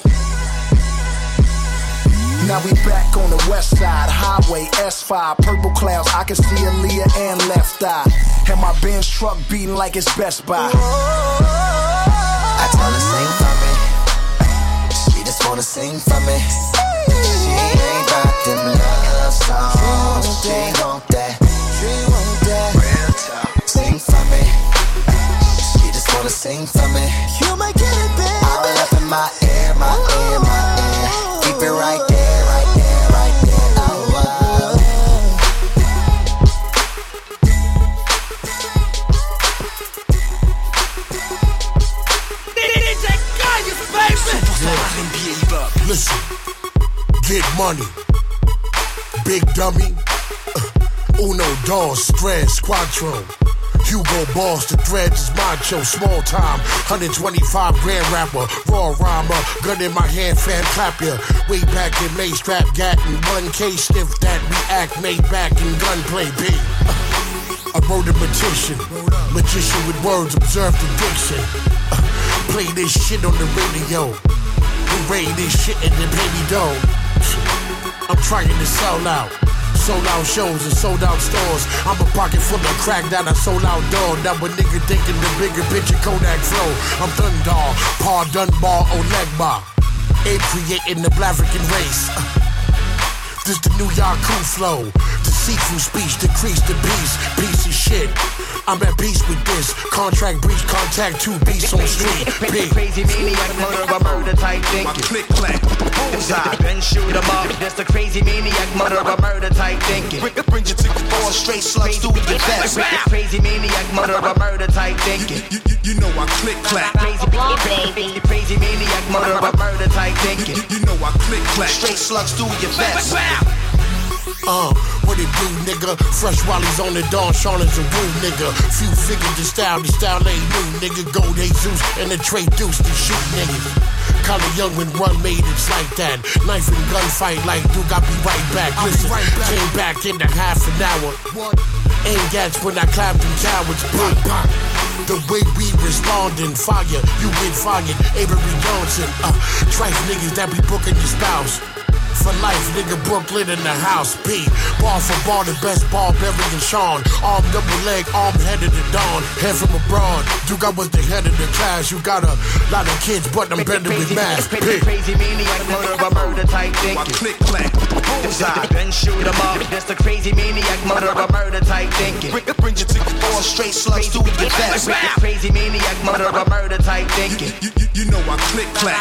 Now we back on the west side, highway S5, purple clouds, I can see Aaliyah and Left Eye. And my Benz truck beating like it's Best Buy. I tell her sing for me. She just wanna sing for me. She ain't bout them love songs. She want that real talk. Sing for me. She just wanna sing for me. You might get it, baby. All up in my ear, my ear, my ear. Keep it right there. Listen, get money, big dummy, uno, dos, tres, cuatro. Hugo Boss, the threads is macho, small time, 125 grand rapper, raw rhymer, gun in my hand, fan clap ya. Way back in May, strap gattin', 1K stiff that react, made back in gunplay, B. I wrote a magician with words, observe the diction. Play this shit on the radio. Raid this shit and then pay me dough. I'm trying to sell out. Sold out shows and sold out stores. I'm a pocket full of crack that I sold out door. Now a nigga thinking the bigger picture Kodak flow. I'm Thundar, Pa Dunbar, Olegba. Ape creating the Black African race. This the New Yaku flow. Deceitful speech, decrease the peace. Piece of shit. I'm at peace with this. Contract breach, contact 2 beasts on street. Big. Crazy maniac, murder type thinking. My click clack, bullseye, then shoot 'em up. That's the crazy maniac, murder type thinking. Bring you to the floor, straight slugs through your vest. Crazy maniac, murder type thinking. You know I click clack. Crazy maniac, murder type thinking. You know I click clack. Straight slugs through your vest. What it do, nigga? Fresh Wally's on the dawn, Sean is a woo, nigga. Few figured the style ain't new, nigga. Gold Jesus and the Trey Deuce to shoot niggas. Color Young when run made it's like that. Knife and gunfight like Duke, I'll be right back. Listen, came back in half an hour. Ain't gats when I clapped them cowards. Bang, bang. The way we respondin', fire, you get fired. Avery Johnson, trife niggas that be booking your spouse. For life, nigga, Brooklyn in the house. B, bar for bar, the best Barbarian Sean. Arm double leg, arm headed to dawn. Head from abroad, you got was the head of the class. You got a lot of kids, but I'm better with math. Crazy maniac, murder type thinking. Click, clack, bullseye, then shoot 'em up. That's the crazy maniac, murder type thinking. Bring you to the floor, straight slugs to your vest. Crazy maniac, murder type thinking. You know I click, clack.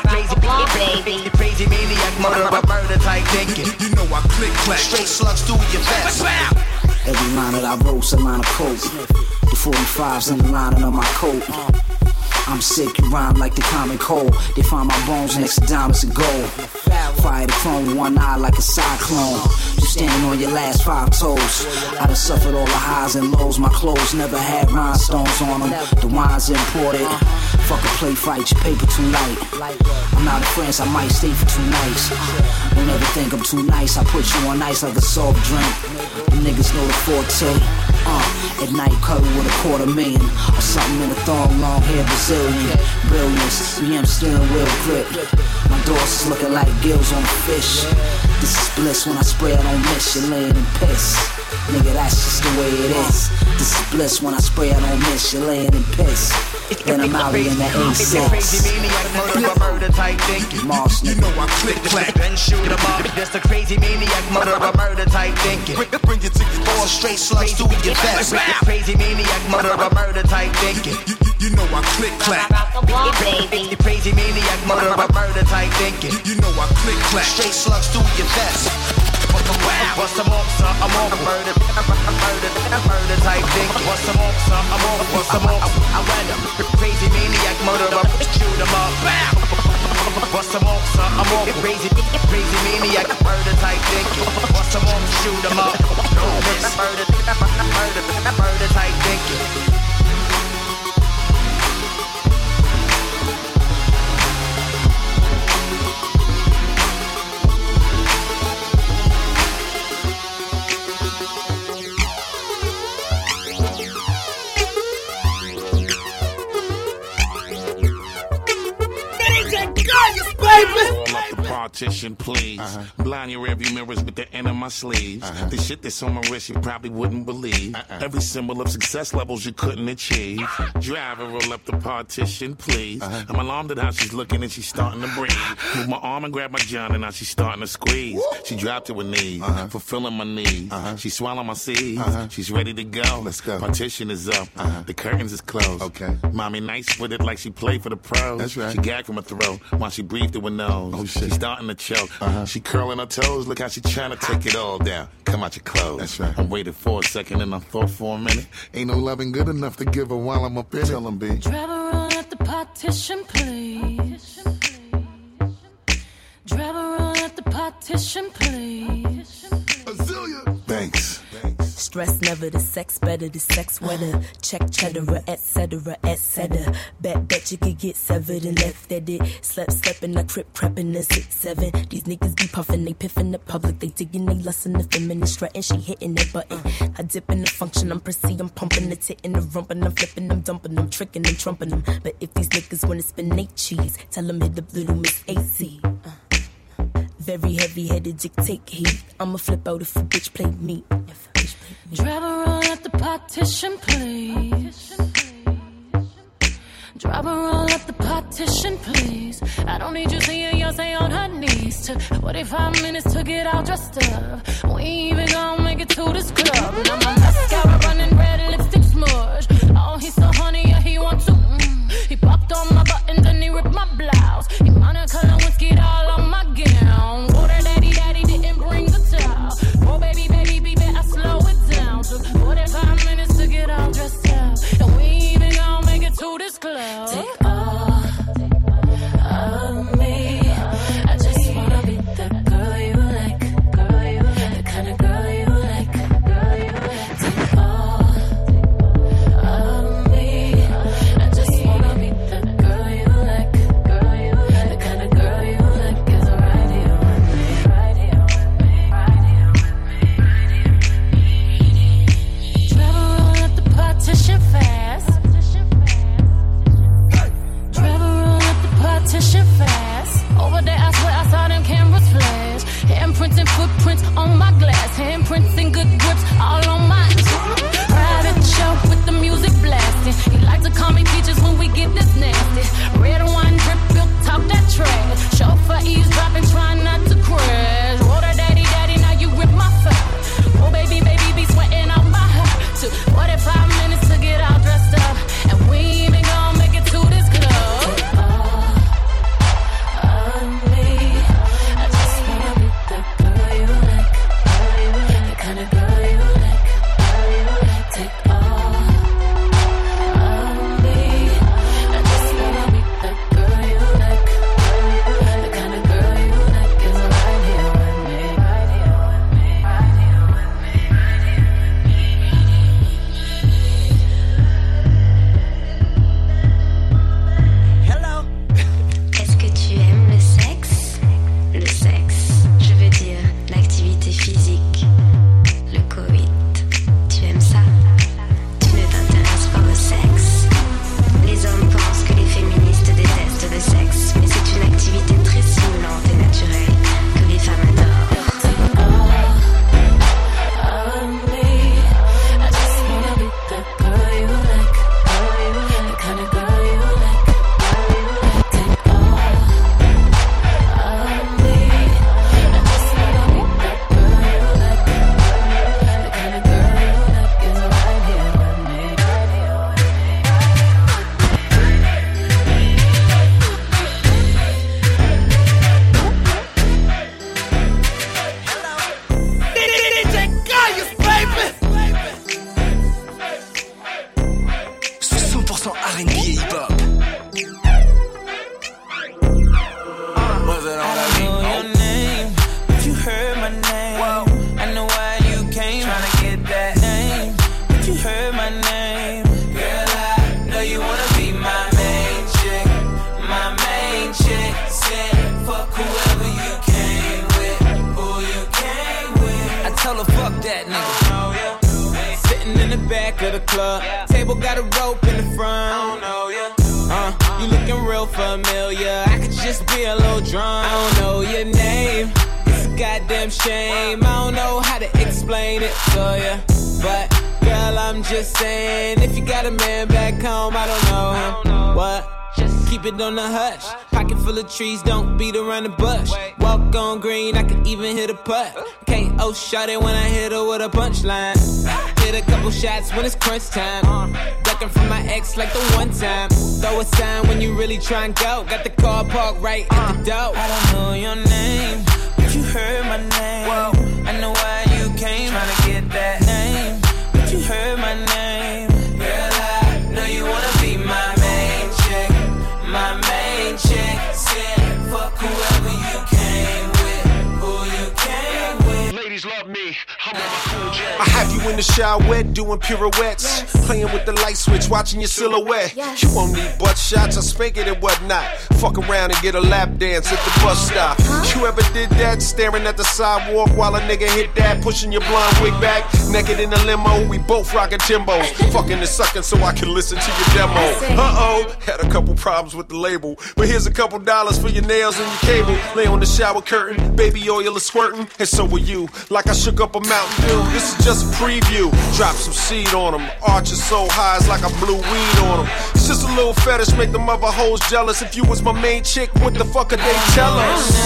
Crazy maniac, murder type thinking. You know I click, clack. Straight slugs through your vest. Every line that I wrote, a line of coke. The 45's in the lining of my coat. I'm sick, you rhyme like the common cold. They find my bones next to diamonds and gold. Fire the chrome with one eye like a cyclone. You standing on your last 5 toes. I done suffered all the highs and lows. My clothes never had rhinestones on them. The wine's imported. Fuck a play fight, your paper too light. I'm out of France, I might stay for 2 nights. Don't ever think I'm too nice. I put you on ice like a soft drink. The niggas know the forte. At night, cuddle with $250,000 or something in a thong, long hair Brazilian. Brilliance, BM steering wheel grip. My doors is looking like gills on a fish. This is bliss when I spray, I don't miss. You're laying in piss. Nigga, that's just the way it is. This is bliss when I spray, I don't miss. You're laying in piss. Then I'm out here in that A6. Crazy maniac, murder type thinking. You know I click, clack, then shoot 'em up. That's the crazy maniac, murder type thinking. Bring you to your floor, straight slugs to your vest. Crazy maniac, murder type thinking. You know I click, clack. Crazy maniac, murder type thinking. You know I click, clack. Straight slugs through your vest. What's some more, son? I'm on murder type thinking. What's some more, son? I'm on. What's some more? I went up. Crazy maniac, murderer, shoot 'em up. What's some more, son? I'm on. Crazy maniac, murder type thinking. What's some more? Shoot 'em up. No miss. Murder type thinking. Roll up the partition, please. Blind your rearview mirrors with the end of my sleeves. The shit that's on my wrist you probably wouldn't believe. Every symbol of success levels you couldn't achieve. Driver, roll up the partition, please. I'm alarmed at how she's looking and she's starting to breathe. Move my arm and grab my john and now she's starting to squeeze. She dropped to her knees, fulfilling my needs. She swallowed my seeds. She's ready to go. Let's go. Partition is up. The curtains is closed. Okay. Mommy nice with it like she played for the pros. That's right. She gagged from her throat while she breathed through her nose. Oh, shit. She's starting to choke. She curling her toes. Look how she trying to take it all down. Come out your clothes. That's right. I waited for a second and I thought for a minute. Ain't no loving good enough to give her while I'm up in it. Tell him, B. Driver, roll up the partition, please. Driver, roll up the partition, please. Azalea. Thanks. Stress never, the sex better, the sex wetter. Check cheddar, etc., etc. Bet you could get severed and left at it. Slept in the crib, crepping the 6-7. These niggas be puffing, they piffing the public. They digging, they lustin' the feminine strutting. She hitting that button. I dip in the function, I'm prissy, I'm pumping the tit in the rump. And I'm flipping, I'm dumping, I'm tricking, I'm trumping them. But if these niggas wanna spin they cheese, tell them hit up little Miss AC. Very heavy-headed dictate heat. I'ma flip out if a bitch play me. Driver, roll up the partition, please. Driver, roll up the partition, please. I don't need you seeing Yonsei on her knees. Took 45 minutes to get all dressed up. We ain't even gonna make it to this club. Now my mascara running red, lipstick smudge. Oh, he's so honey, yeah, he wants to. He popped on my buttons and he ripped my blouse. He wanna color whiskey all on my gown. Oh, that daddy didn't bring the towel. Oh, baby, I slow it down. Took 45 minutes to get all dressed up. And we ain't even gonna make it to this club. Take all of me. I just wanna be the girl you like. The kind of girl you attention fast. Over there, I swear I saw them cameras flash. Handprints and footprints on my glass. Handprints and good grips all on my private show with the music blasting. He like to call me peaches when we get this nasty. Red wine drip, built talk that trash. Chauffeur eavesdropping, trying not to crash. Water daddy, daddy, now you rip my fat. Oh baby, baby, be sweating out my hair. Took 45 minutes to get all dressed up, and we ain't even gonna make it to this club. On the hush, pocket full of trees, don't beat around the bush. Walk on green, I could even hit a putt. KO shot it when I hit her with a punchline. Hit a couple shots when it's crunch time. Ducking from my ex like the one time. Throw a sign when you really try and go. Got the car parked right at the door. I don't know your name, but you heard my name. Whoa. I know why you came, trying to get that name, but you heard my name. Girl, I know you wanna be my main chick. My main chick said, fuck whoever you came with, who you came with. Ladies love me, I'm on my cool jet. I have you in the shower wet, doing pirouettes, playing with the light switch, watching your silhouette. You won't need butt shots, I spank it and whatnot. Fuck around and get a lap dance at the bus stop. You ever did that, staring at the sidewalk while a nigga hit that, pushing your blonde wig back, naked in the limo, we both rockin' Timbos, fucking and sucking so I can listen to your demo. Uh-oh, had a couple problems with the label, but here's a couple dollars for your nails and your cable. Lay on the shower curtain, baby oil is squirting, and so will you, like I shook up a Mountain Dew. This is just a preview, drop some seed on them, arches so high it's like I blew weed on them. It's just a little fetish, make them other hoes jealous. If you was my main chick, what the fuck could they tell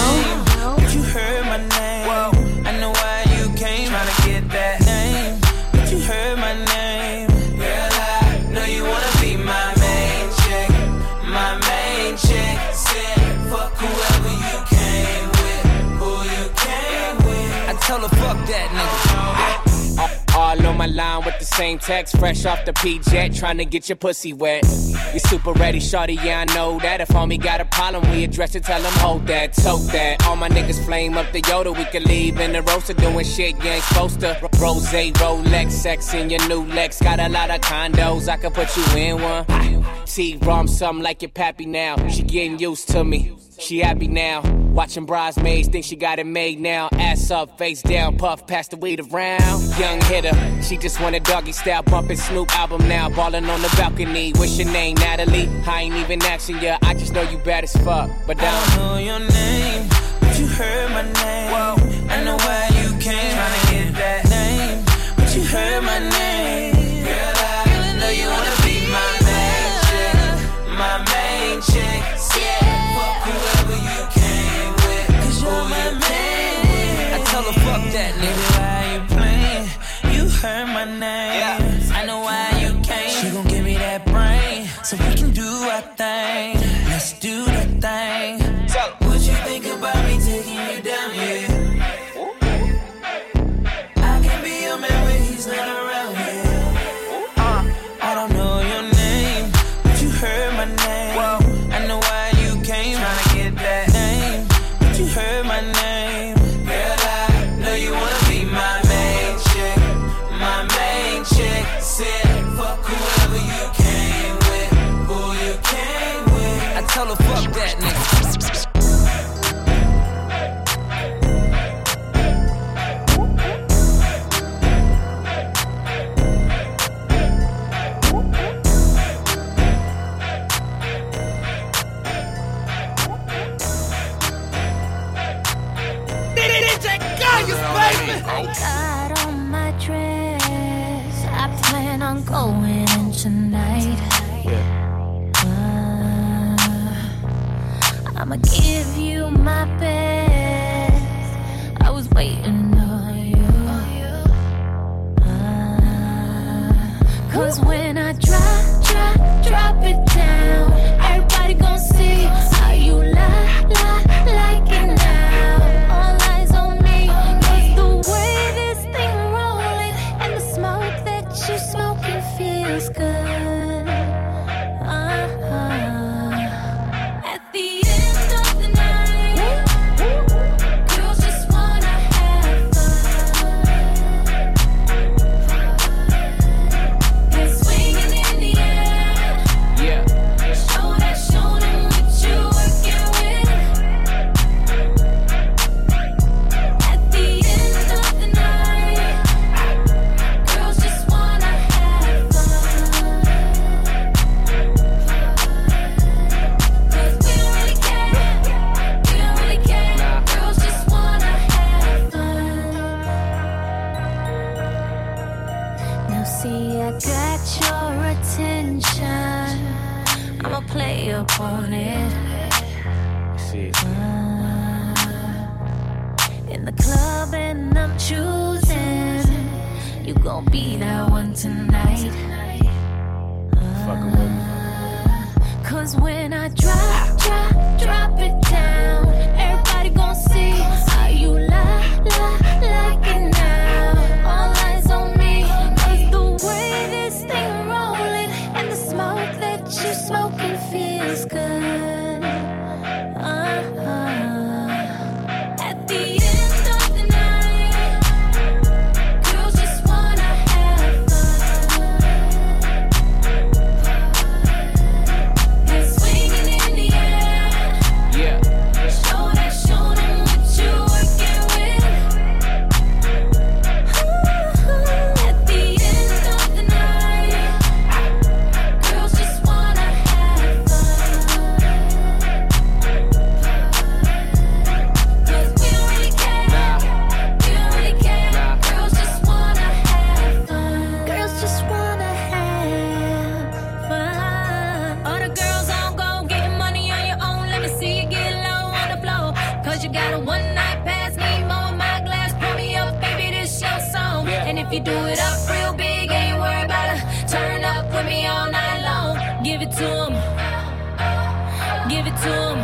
us? But you heard my name. Whoa. I know why you came, trying to get that name, but you heard my name. Girl, I know you wanna be my main chick. My main chick said, fuck whoever you came with, who you came with. I tell her fuck that nigga. All on my line with the same text, fresh off the P-Jet, trying to get your pussy wet. You super ready, shorty, yeah, I know that. If homie got a problem, we address it, tell him hold that, tote that. All my niggas flame up the Yoda, we can leave in the roaster, doing shit you ain't supposed to. Rose, Rolex, sex in your new Lex, got a lot of condos, I can put you in one. T-Rom, something like your pappy now, she getting used to me. She happy now. Watching bridesmaids, think she got it made now. Ass up, face down, puff, pass the weed around. Young hitter, she just want a doggy style, bumping Snoop album now. Ballin' on the balcony. What's your name, Natalie? I ain't even asking ya, I just know you bad as fuck. But I don't know your name, but you heard my name. Whoa. I know why you came, tryna get that name, but you heard my name. Girl, I know you wanna be my main chick, my main chick. Yeah, fuck whoever you came with, 'cause you're my man. I tell her fuck that nigga, why you playing? You heard my name. Yeah. I know why you came. She gon' give me that brain, so we can do our thing. Let's do that thing. What you think about me taking you down here? I can be your man when he's not around here. I don't know your name, but you heard my name. I know why you came, tryna get that name, but you heard my name. Girl, I know you wanna be my main chick, my main chick. Said fuck whoever you came with, who you came with. I tell her fuck that nigga. Got on my dress, I plan on going in tonight. I'ma give you my best. I was waiting on you. 'Cause when I drop it down, everybody gon' see how you like it now. All eyes on me, 'cause the way this thing rolling and the smoke that you smoking feels good. At the end of the night, girls just wanna have fun. And swinging in the air. Yeah. Show them what you working with. At the end of the night, girls just wanna have fun. 'Cause we don't really care, Girls just wanna have fun. Now see, I got your attention. I'ma play up on it. In the club and I'm choosing. You gon' be that one tonight. 'Cause when I drop it down, everybody gon' see how you like it now. All eyes on me, 'cause the way this thing rolling and the smoke that you smoking feels good. At the end of the night, girls just wanna have fun. And swinging in the air. Yeah. Show them what you working with. At the end of the night, girls just wanna have fun. 'Cause we don't really care, Girls just wanna have fun. Girls just wanna have fun. All the girls on go getting money on your own. Let me see you get low on the floor. 'Cause you got a one night pass, need more in my glass. Pour me up, baby, this your song. And if you do it up real big, ain't worried about it. Turn up with me all night long. Give it to 'em. Give it to 'em.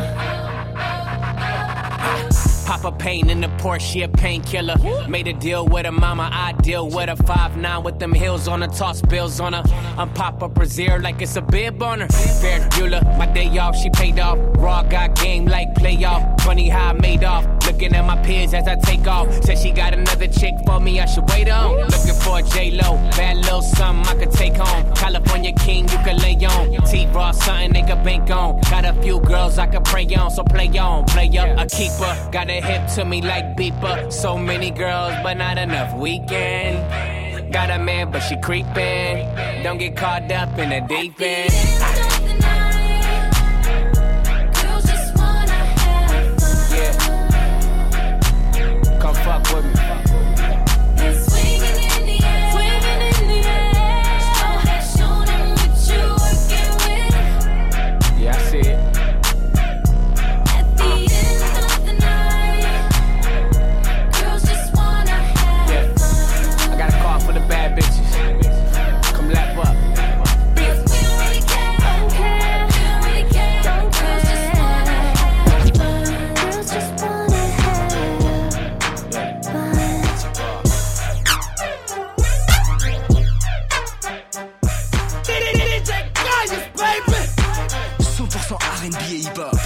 Pop a pain in the Porsche, a painkiller. Made a deal with her mama, I deal with her. 5'9" with them heels on her, toss bills on her. I'm pop up Brazil like it's a bib on her. Fair Bueller, my day off, she paid off. Raw got game like like playoff. Funny how I made off. Looking at my peers as I take off. Said she got another chick for me, I should wait on. Looking for a J-Lo, bad little something I could take home. California king, you can lay on. T-Raw, something they could bank on. Got a few girls I could pray on, so play on. Player, a keeper, got a hip to me like beeper. So many girls, but not enough weekend. Got a man, but she creeping. Don't get caught up in the deep end. Come fuck with me. Swinging in the air, swinging in the air. Show them what you working with. Yeah, I see it. At the end of the night, girls just wanna have fun. I got a call for the bad bitches. Come lap up. Girls just wanna have fun. Girls just wanna have DJ Gaius, baby. 100% R&B et hip-hop.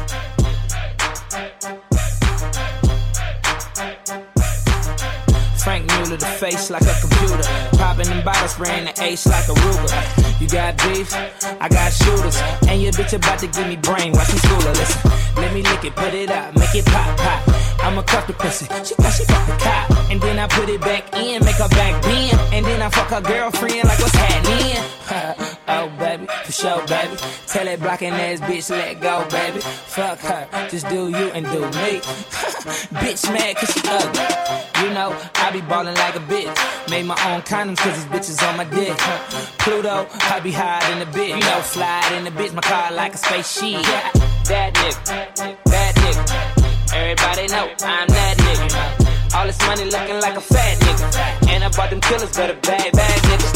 Frank Mueller, the face like a computer. Popping them bottles, spraying the ace like a Ruger. You got beef, I got shooters. And your bitch about to give me brain, watch me school her. Listen, let me lick it, put it out, make it pop, pop. I'ma cuff the pussy, she thought she fucked the cop. And then I put it back in, make her back bend. And then I fuck her girlfriend like what's happening. Oh baby, for sure baby. Tell that blocking ass bitch let go baby. Fuck her, just do you and do me. Bitch mad cause she ugly. You know, I be ballin' like a bitch. Made my own condoms cause these bitches on my dick. Pluto, I be high in the bitch. You know, slide in the bitch, my car like a spaceship. That nigga, that nigga. Everybody know I'm that nigga. All this money looking like a fat nigga. And I bought them killers, better bag niggas.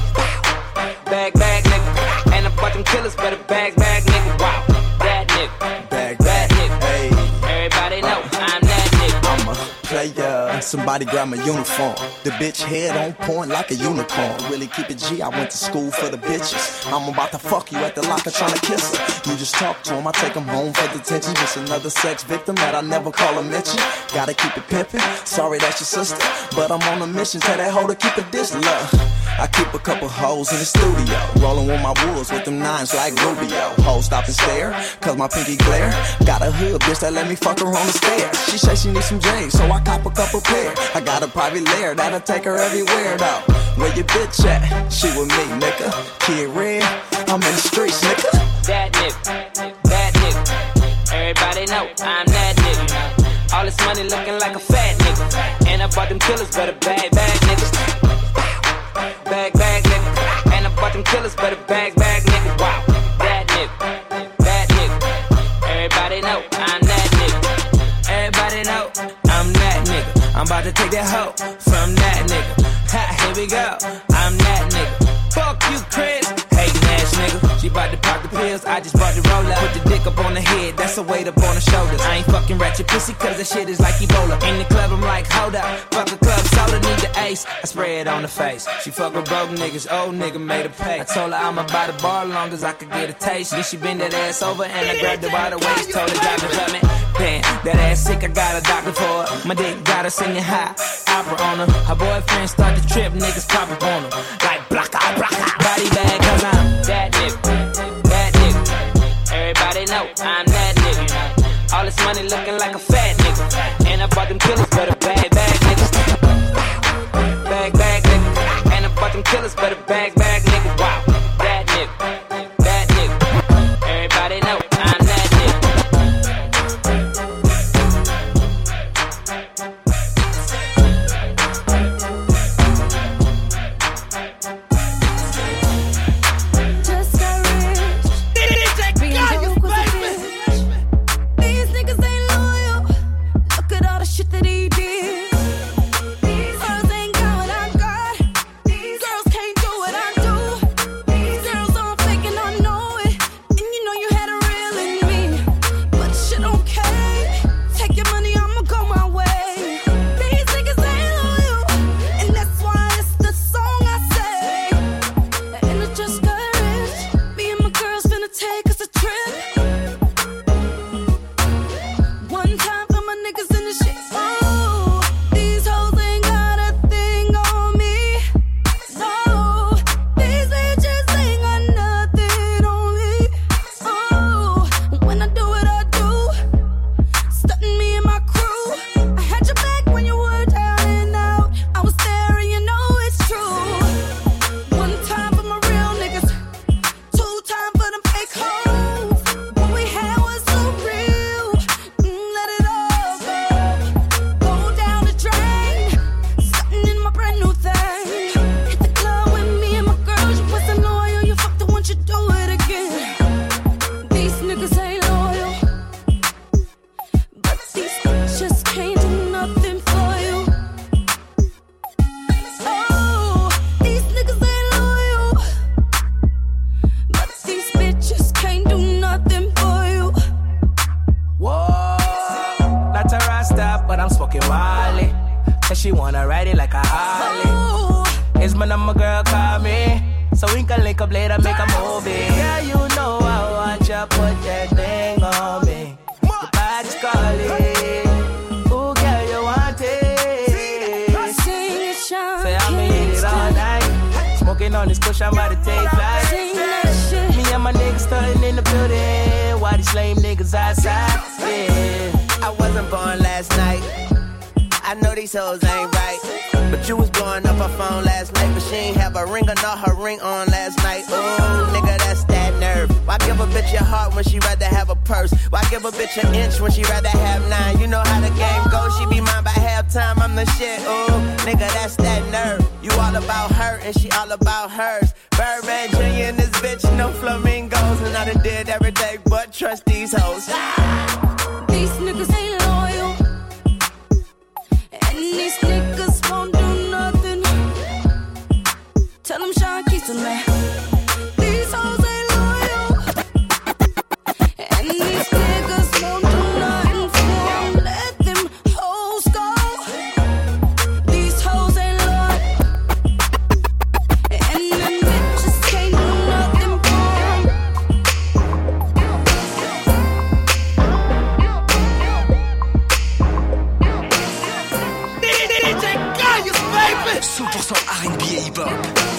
Bag nigga. And I bought them killers, better bag nigga. Wow, that nigga. Bag, nigga. Hey. Everybody know I'm that nigga. I'm a player, somebody grab my uniform. The bitch head on point like a unicorn. Really keep it G, I went to school for the bitches. I'm about to fuck you at the locker trying to kiss her. You just talk to him, I take him home for detention. Just another sex victim that I never call a mention. Gotta keep it pimpin', sorry that's your sister. But I'm on a mission, tell that hoe to keep it this love. I keep a couple hoes in the studio, rolling with my wolves with them nines like Rubio. Hoes stop and stare, cause my pinky glare. Got a hood bitch that let me fuck her on the stairs. She say she needs some J's, so I cop a couple pair. I got a private lair that'll take her everywhere though. Where your bitch at? She with me, nigga. Kid Red, I'm in the streets, nigga. That nigga, that nigga. Everybody know I'm that nigga. All this money looking like a fat nigga. And I bought them killers, better bag niggas. Bag nigga. And I bought them killers, better bag nigga. Wow, that nigga, that nigga. Everybody know I'm that nigga. Everybody know I'm that nigga. I'm about to take that hoe from that nigga. Ha, here we go, I'm that nigga. Fuck you, Chris. Hating ass nigga. She bout to pop the pills, I just bought the roller. Put the dick up on the head, that's a weight up on the shoulders. I ain't fucking ratchet pussy cause that shit is like Ebola. In the club I'm like, hold up, fuck a club soda, need the ace. I spray it on the face. She fuck with broke niggas, old nigga made her pay. I told her I'ma buy the bar long as I could get a taste. Then she bend that ass over and I grabbed her by the waist. Told her drive the club me. Damn, that ass sick, I got a doctor for her. My dick got her singing high opera on her. Her boyfriend start to trip, niggas pop up on her. Like blocka. Body bag cause I'm that nigga, that nigga. Everybody know I'm that nigga. All this money looking like a fat nigga. And I bought them killers, better bag niggas. Bag nigga. And I bought them killers, better bag nigga. Wow, that nigga, that nigga. Everybody know I'm that nigga. Just got rich. Being broke was a bitch. These niggas ain't loyal. Look at all the shit that he did. These girls ain't got what I got. These girls can't do what I do. when I do what I do. Stunting me and my crew. I had your back when you were down and out. I was there and you know it's true. One time for my real niggas, two time for them fake hoes. What we had was so real. Let it all go. Go down the drain. Stunting in my brand new thing. Hit the club with me and my girls. You wasn't loyal. You fucked it once, you do it again. These niggas ain't loyal, but these bitches can't do nothing for you. Oh, these niggas ain't loyal, but these bitches can't do nothing for you. Whoa, not a Rasta, but I'm smoking Wally. Said she wanna ride it like a Harley. It's my number, girl, call me, so we can link up later, make a movie. Yeah, you know I want you, put that thing on me. Your body's calling. Ooh, girl, you want it. Sing it, Sean. Say I'ma hit it all night. Smoking on this kush, I'm about to take flight. Sing that shit. Me and my niggas starting in the building. Why these lame niggas outside? Yeah. I wasn't born last night. I know these hoes ain't right. But you was blowing up her phone last night. But she ain't have a ring or not her ring on last night. Ooh, nigga, that's that nerve. Why give a bitch your heart when she rather have a purse? Why give a bitch an inch when she rather have 9? You know how the game goes. She be mine by halftime. I'm the shit. Ooh, nigga, that's that nerve. You all about her and she all about hers. Birdman Jr. and this bitch, no flamingos. And I done did every day but trust these hoes. These niggas ain't loyal, and these niggas won't do nothing. Tell them Sean Keaton, man. These hoes ain't loyal, and these niggas won't do nothing for them. Let them hoes go. These hoes ain't loyal, and them bitches can't do nothing for them. DJ Kayus, baby. 100% R&B et hip-hop.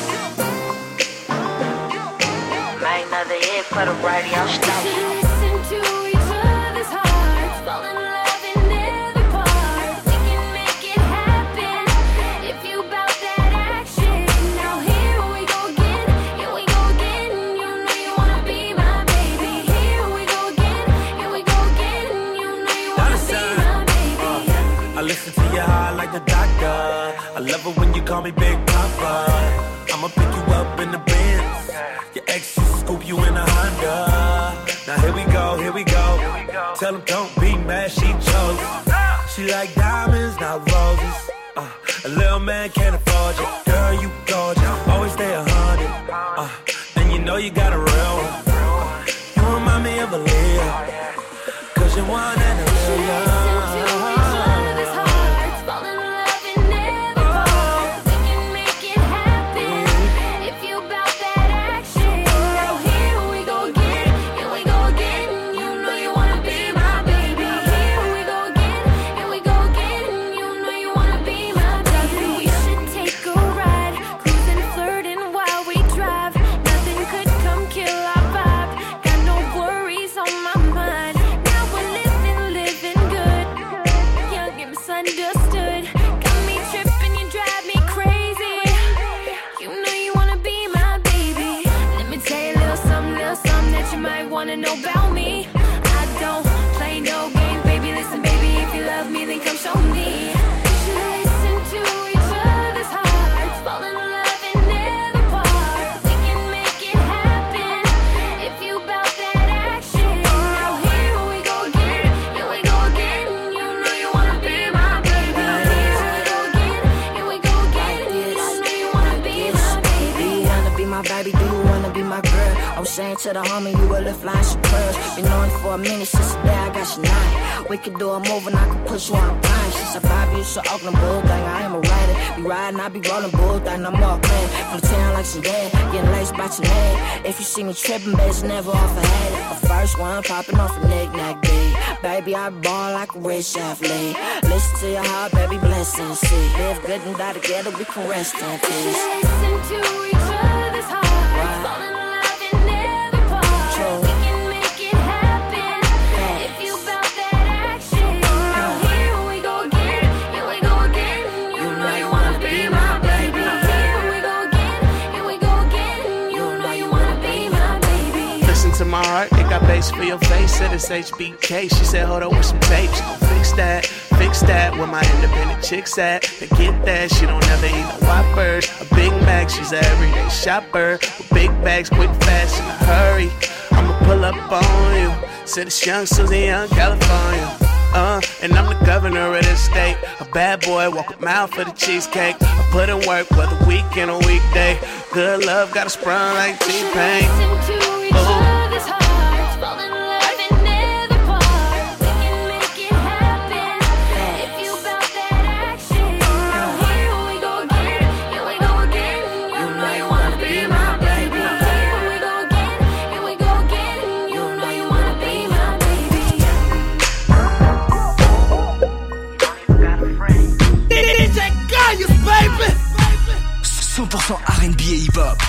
Ain't another hit for the radio stop. Listen to each other's hearts, fall in love and never part. We can make it happen if you bout that action. Now here we go again, here we go again. You know you wanna be my baby. Here we go again, here we go again. You know you wanna be my baby. I listen to your heart like the doctor. I love it when you call me Big Papa. I'ma pick you up in the Benz. Your ex used to scoop you in a Honda. Now here we go, here we go. Tell them don't be mad, she chose. She like diamonds, not roses. A little man can't afford you. Girl, you gorgeous, always stay 100. And you know you got a real one. You remind me of a Leo, 'cause you're one and a million. Wanna know about me? I don't play no games, baby. Listen, baby, if you love me, then come show me. Listen to each other's hearts, fall in love and never part. We can make it happen if you bout that action. Now here we go again, here we go again. You know you wanna be my baby. Here we go again, here we go again. You know you wanna be my baby. Do you wanna be my baby? Do you wanna be my girl? I was saying to the homie, you were lift line superb. Been knowing for a minute since the day I got your night. We could do a move and I could push you on a time. Since I 5 years to Oakland bull thing, I am a rider. Be riding, I be rolling bull thing, I'm all clean. From the town like some dad, getting laced by your name. If you see me tripping, baby's never off a head. A first one popping off a knick-knack beat. Baby, I ball like a rich athlete. Listen to your heart, baby, blessings. See, live good and die together, we can rest in peace. Listen to each other's hearts, fall in love and never part. We can make it happen face for your face, said it's HBK. She said, hold up with some tape, she gon' fix that. Where my independent chicks at? To get that, she don't ever eat no Whoppers. A Big Mac, she's an everyday shopper. With big bags, quick, fast, in a hurry. I'ma pull up on you. Said it's young Susie, young California. And I'm the governor of this state. A bad boy, walk a mile for the cheesecake. I put in work, whether weekend or weekday. Good love, got a sprung like T-Pain. Baby. 100% R&B et hip-hop.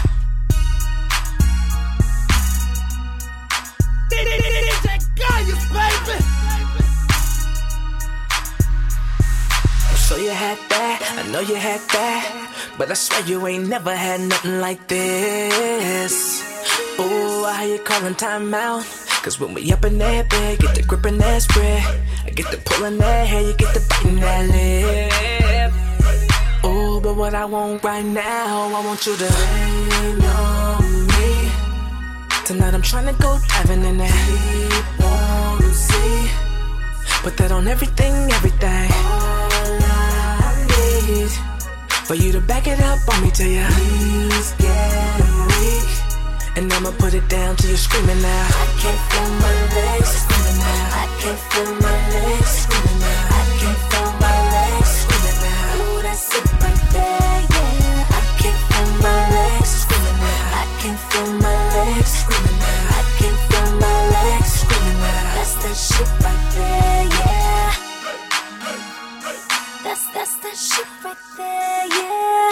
So you had that, I know you had that, but I swear you ain't never had nothing like this. Ooh, I hear you calling time out, cause when we up in that bed, get the grip in that spread, I get the pulling that hair, you get the biting that lip. Ooh, but what I want right now, I want you to rain on me. Tonight I'm tryna go diving in that deep warm sea. Put that on everything. All I need for you to back it up on me till your knees get weak. And I'ma put it down till you're screaming now. I can't feel my legs screaming now. I can't feel my legs screaming now. I can't feel my legs screaming now. Ooh, that's it right there, yeah. I can't feel my legs screaming now. I can't feel my legs screaming now. I can't feel my legs screaming now. That's that shit right there, yeah. That's that shit right there, yeah.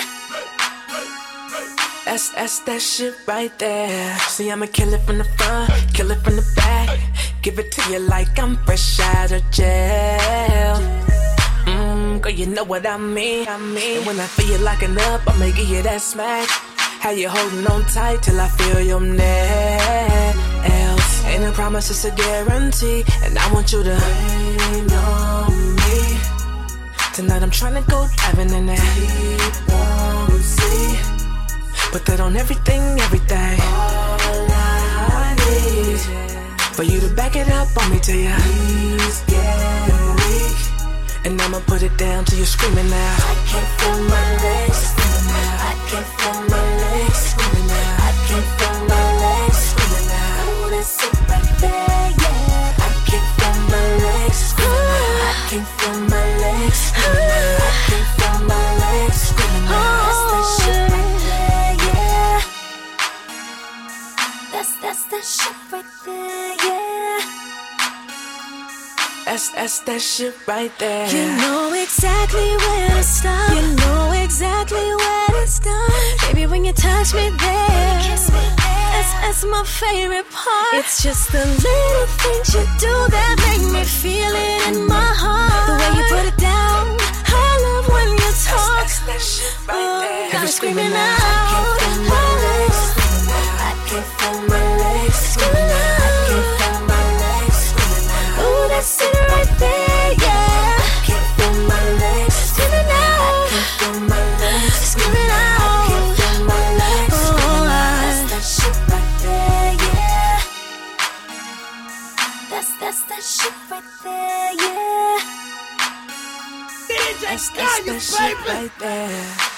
That's that shit right there. See, I'ma kill it from the front, kill it from the back. Give it to you like I'm fresh out of jail. Girl, you know what I mean. And when I feel you locking up, I'ma give you that smack. How you holding on tight till I feel your nails. Ain't a promise, it's a guarantee. And I want you to rain on me. Tonight I'm tryna go diving in that deep warm sea. Put that on everything. All I need for you to back it up on me till your knees get weak. And I'ma put it down till you're screaming now. I can't feel my legs screaming now. I can't feel my legs screaming now. I can't feel my legs screaming now. Ooh, that's it right there, yeah. I can't feel my legs screaming now. I can't feel my legs screaming now. I can't feel my legs screaming now. That's that shit right there, yeah. That's that shit right there, yeah. That's that shit right there. You know exactly where to stop. You know exactly where to stop. Baby, when you touch me there, that's my favorite part. It's just the little things you do that make me feel it in my heart. The way you put it down, I love when you talk. That's that shit right there. Got me screaming out. I can't feel my legs screaming out. I can't feel my legs screaming out. Ooh, that's it right there, yeah. I can't feel my legs screaming out. I can't feel my legs screaming out. I can't feel my legs screaming out. That's that shit right there, yeah. That's that shit right there, yeah. That's that shit right there.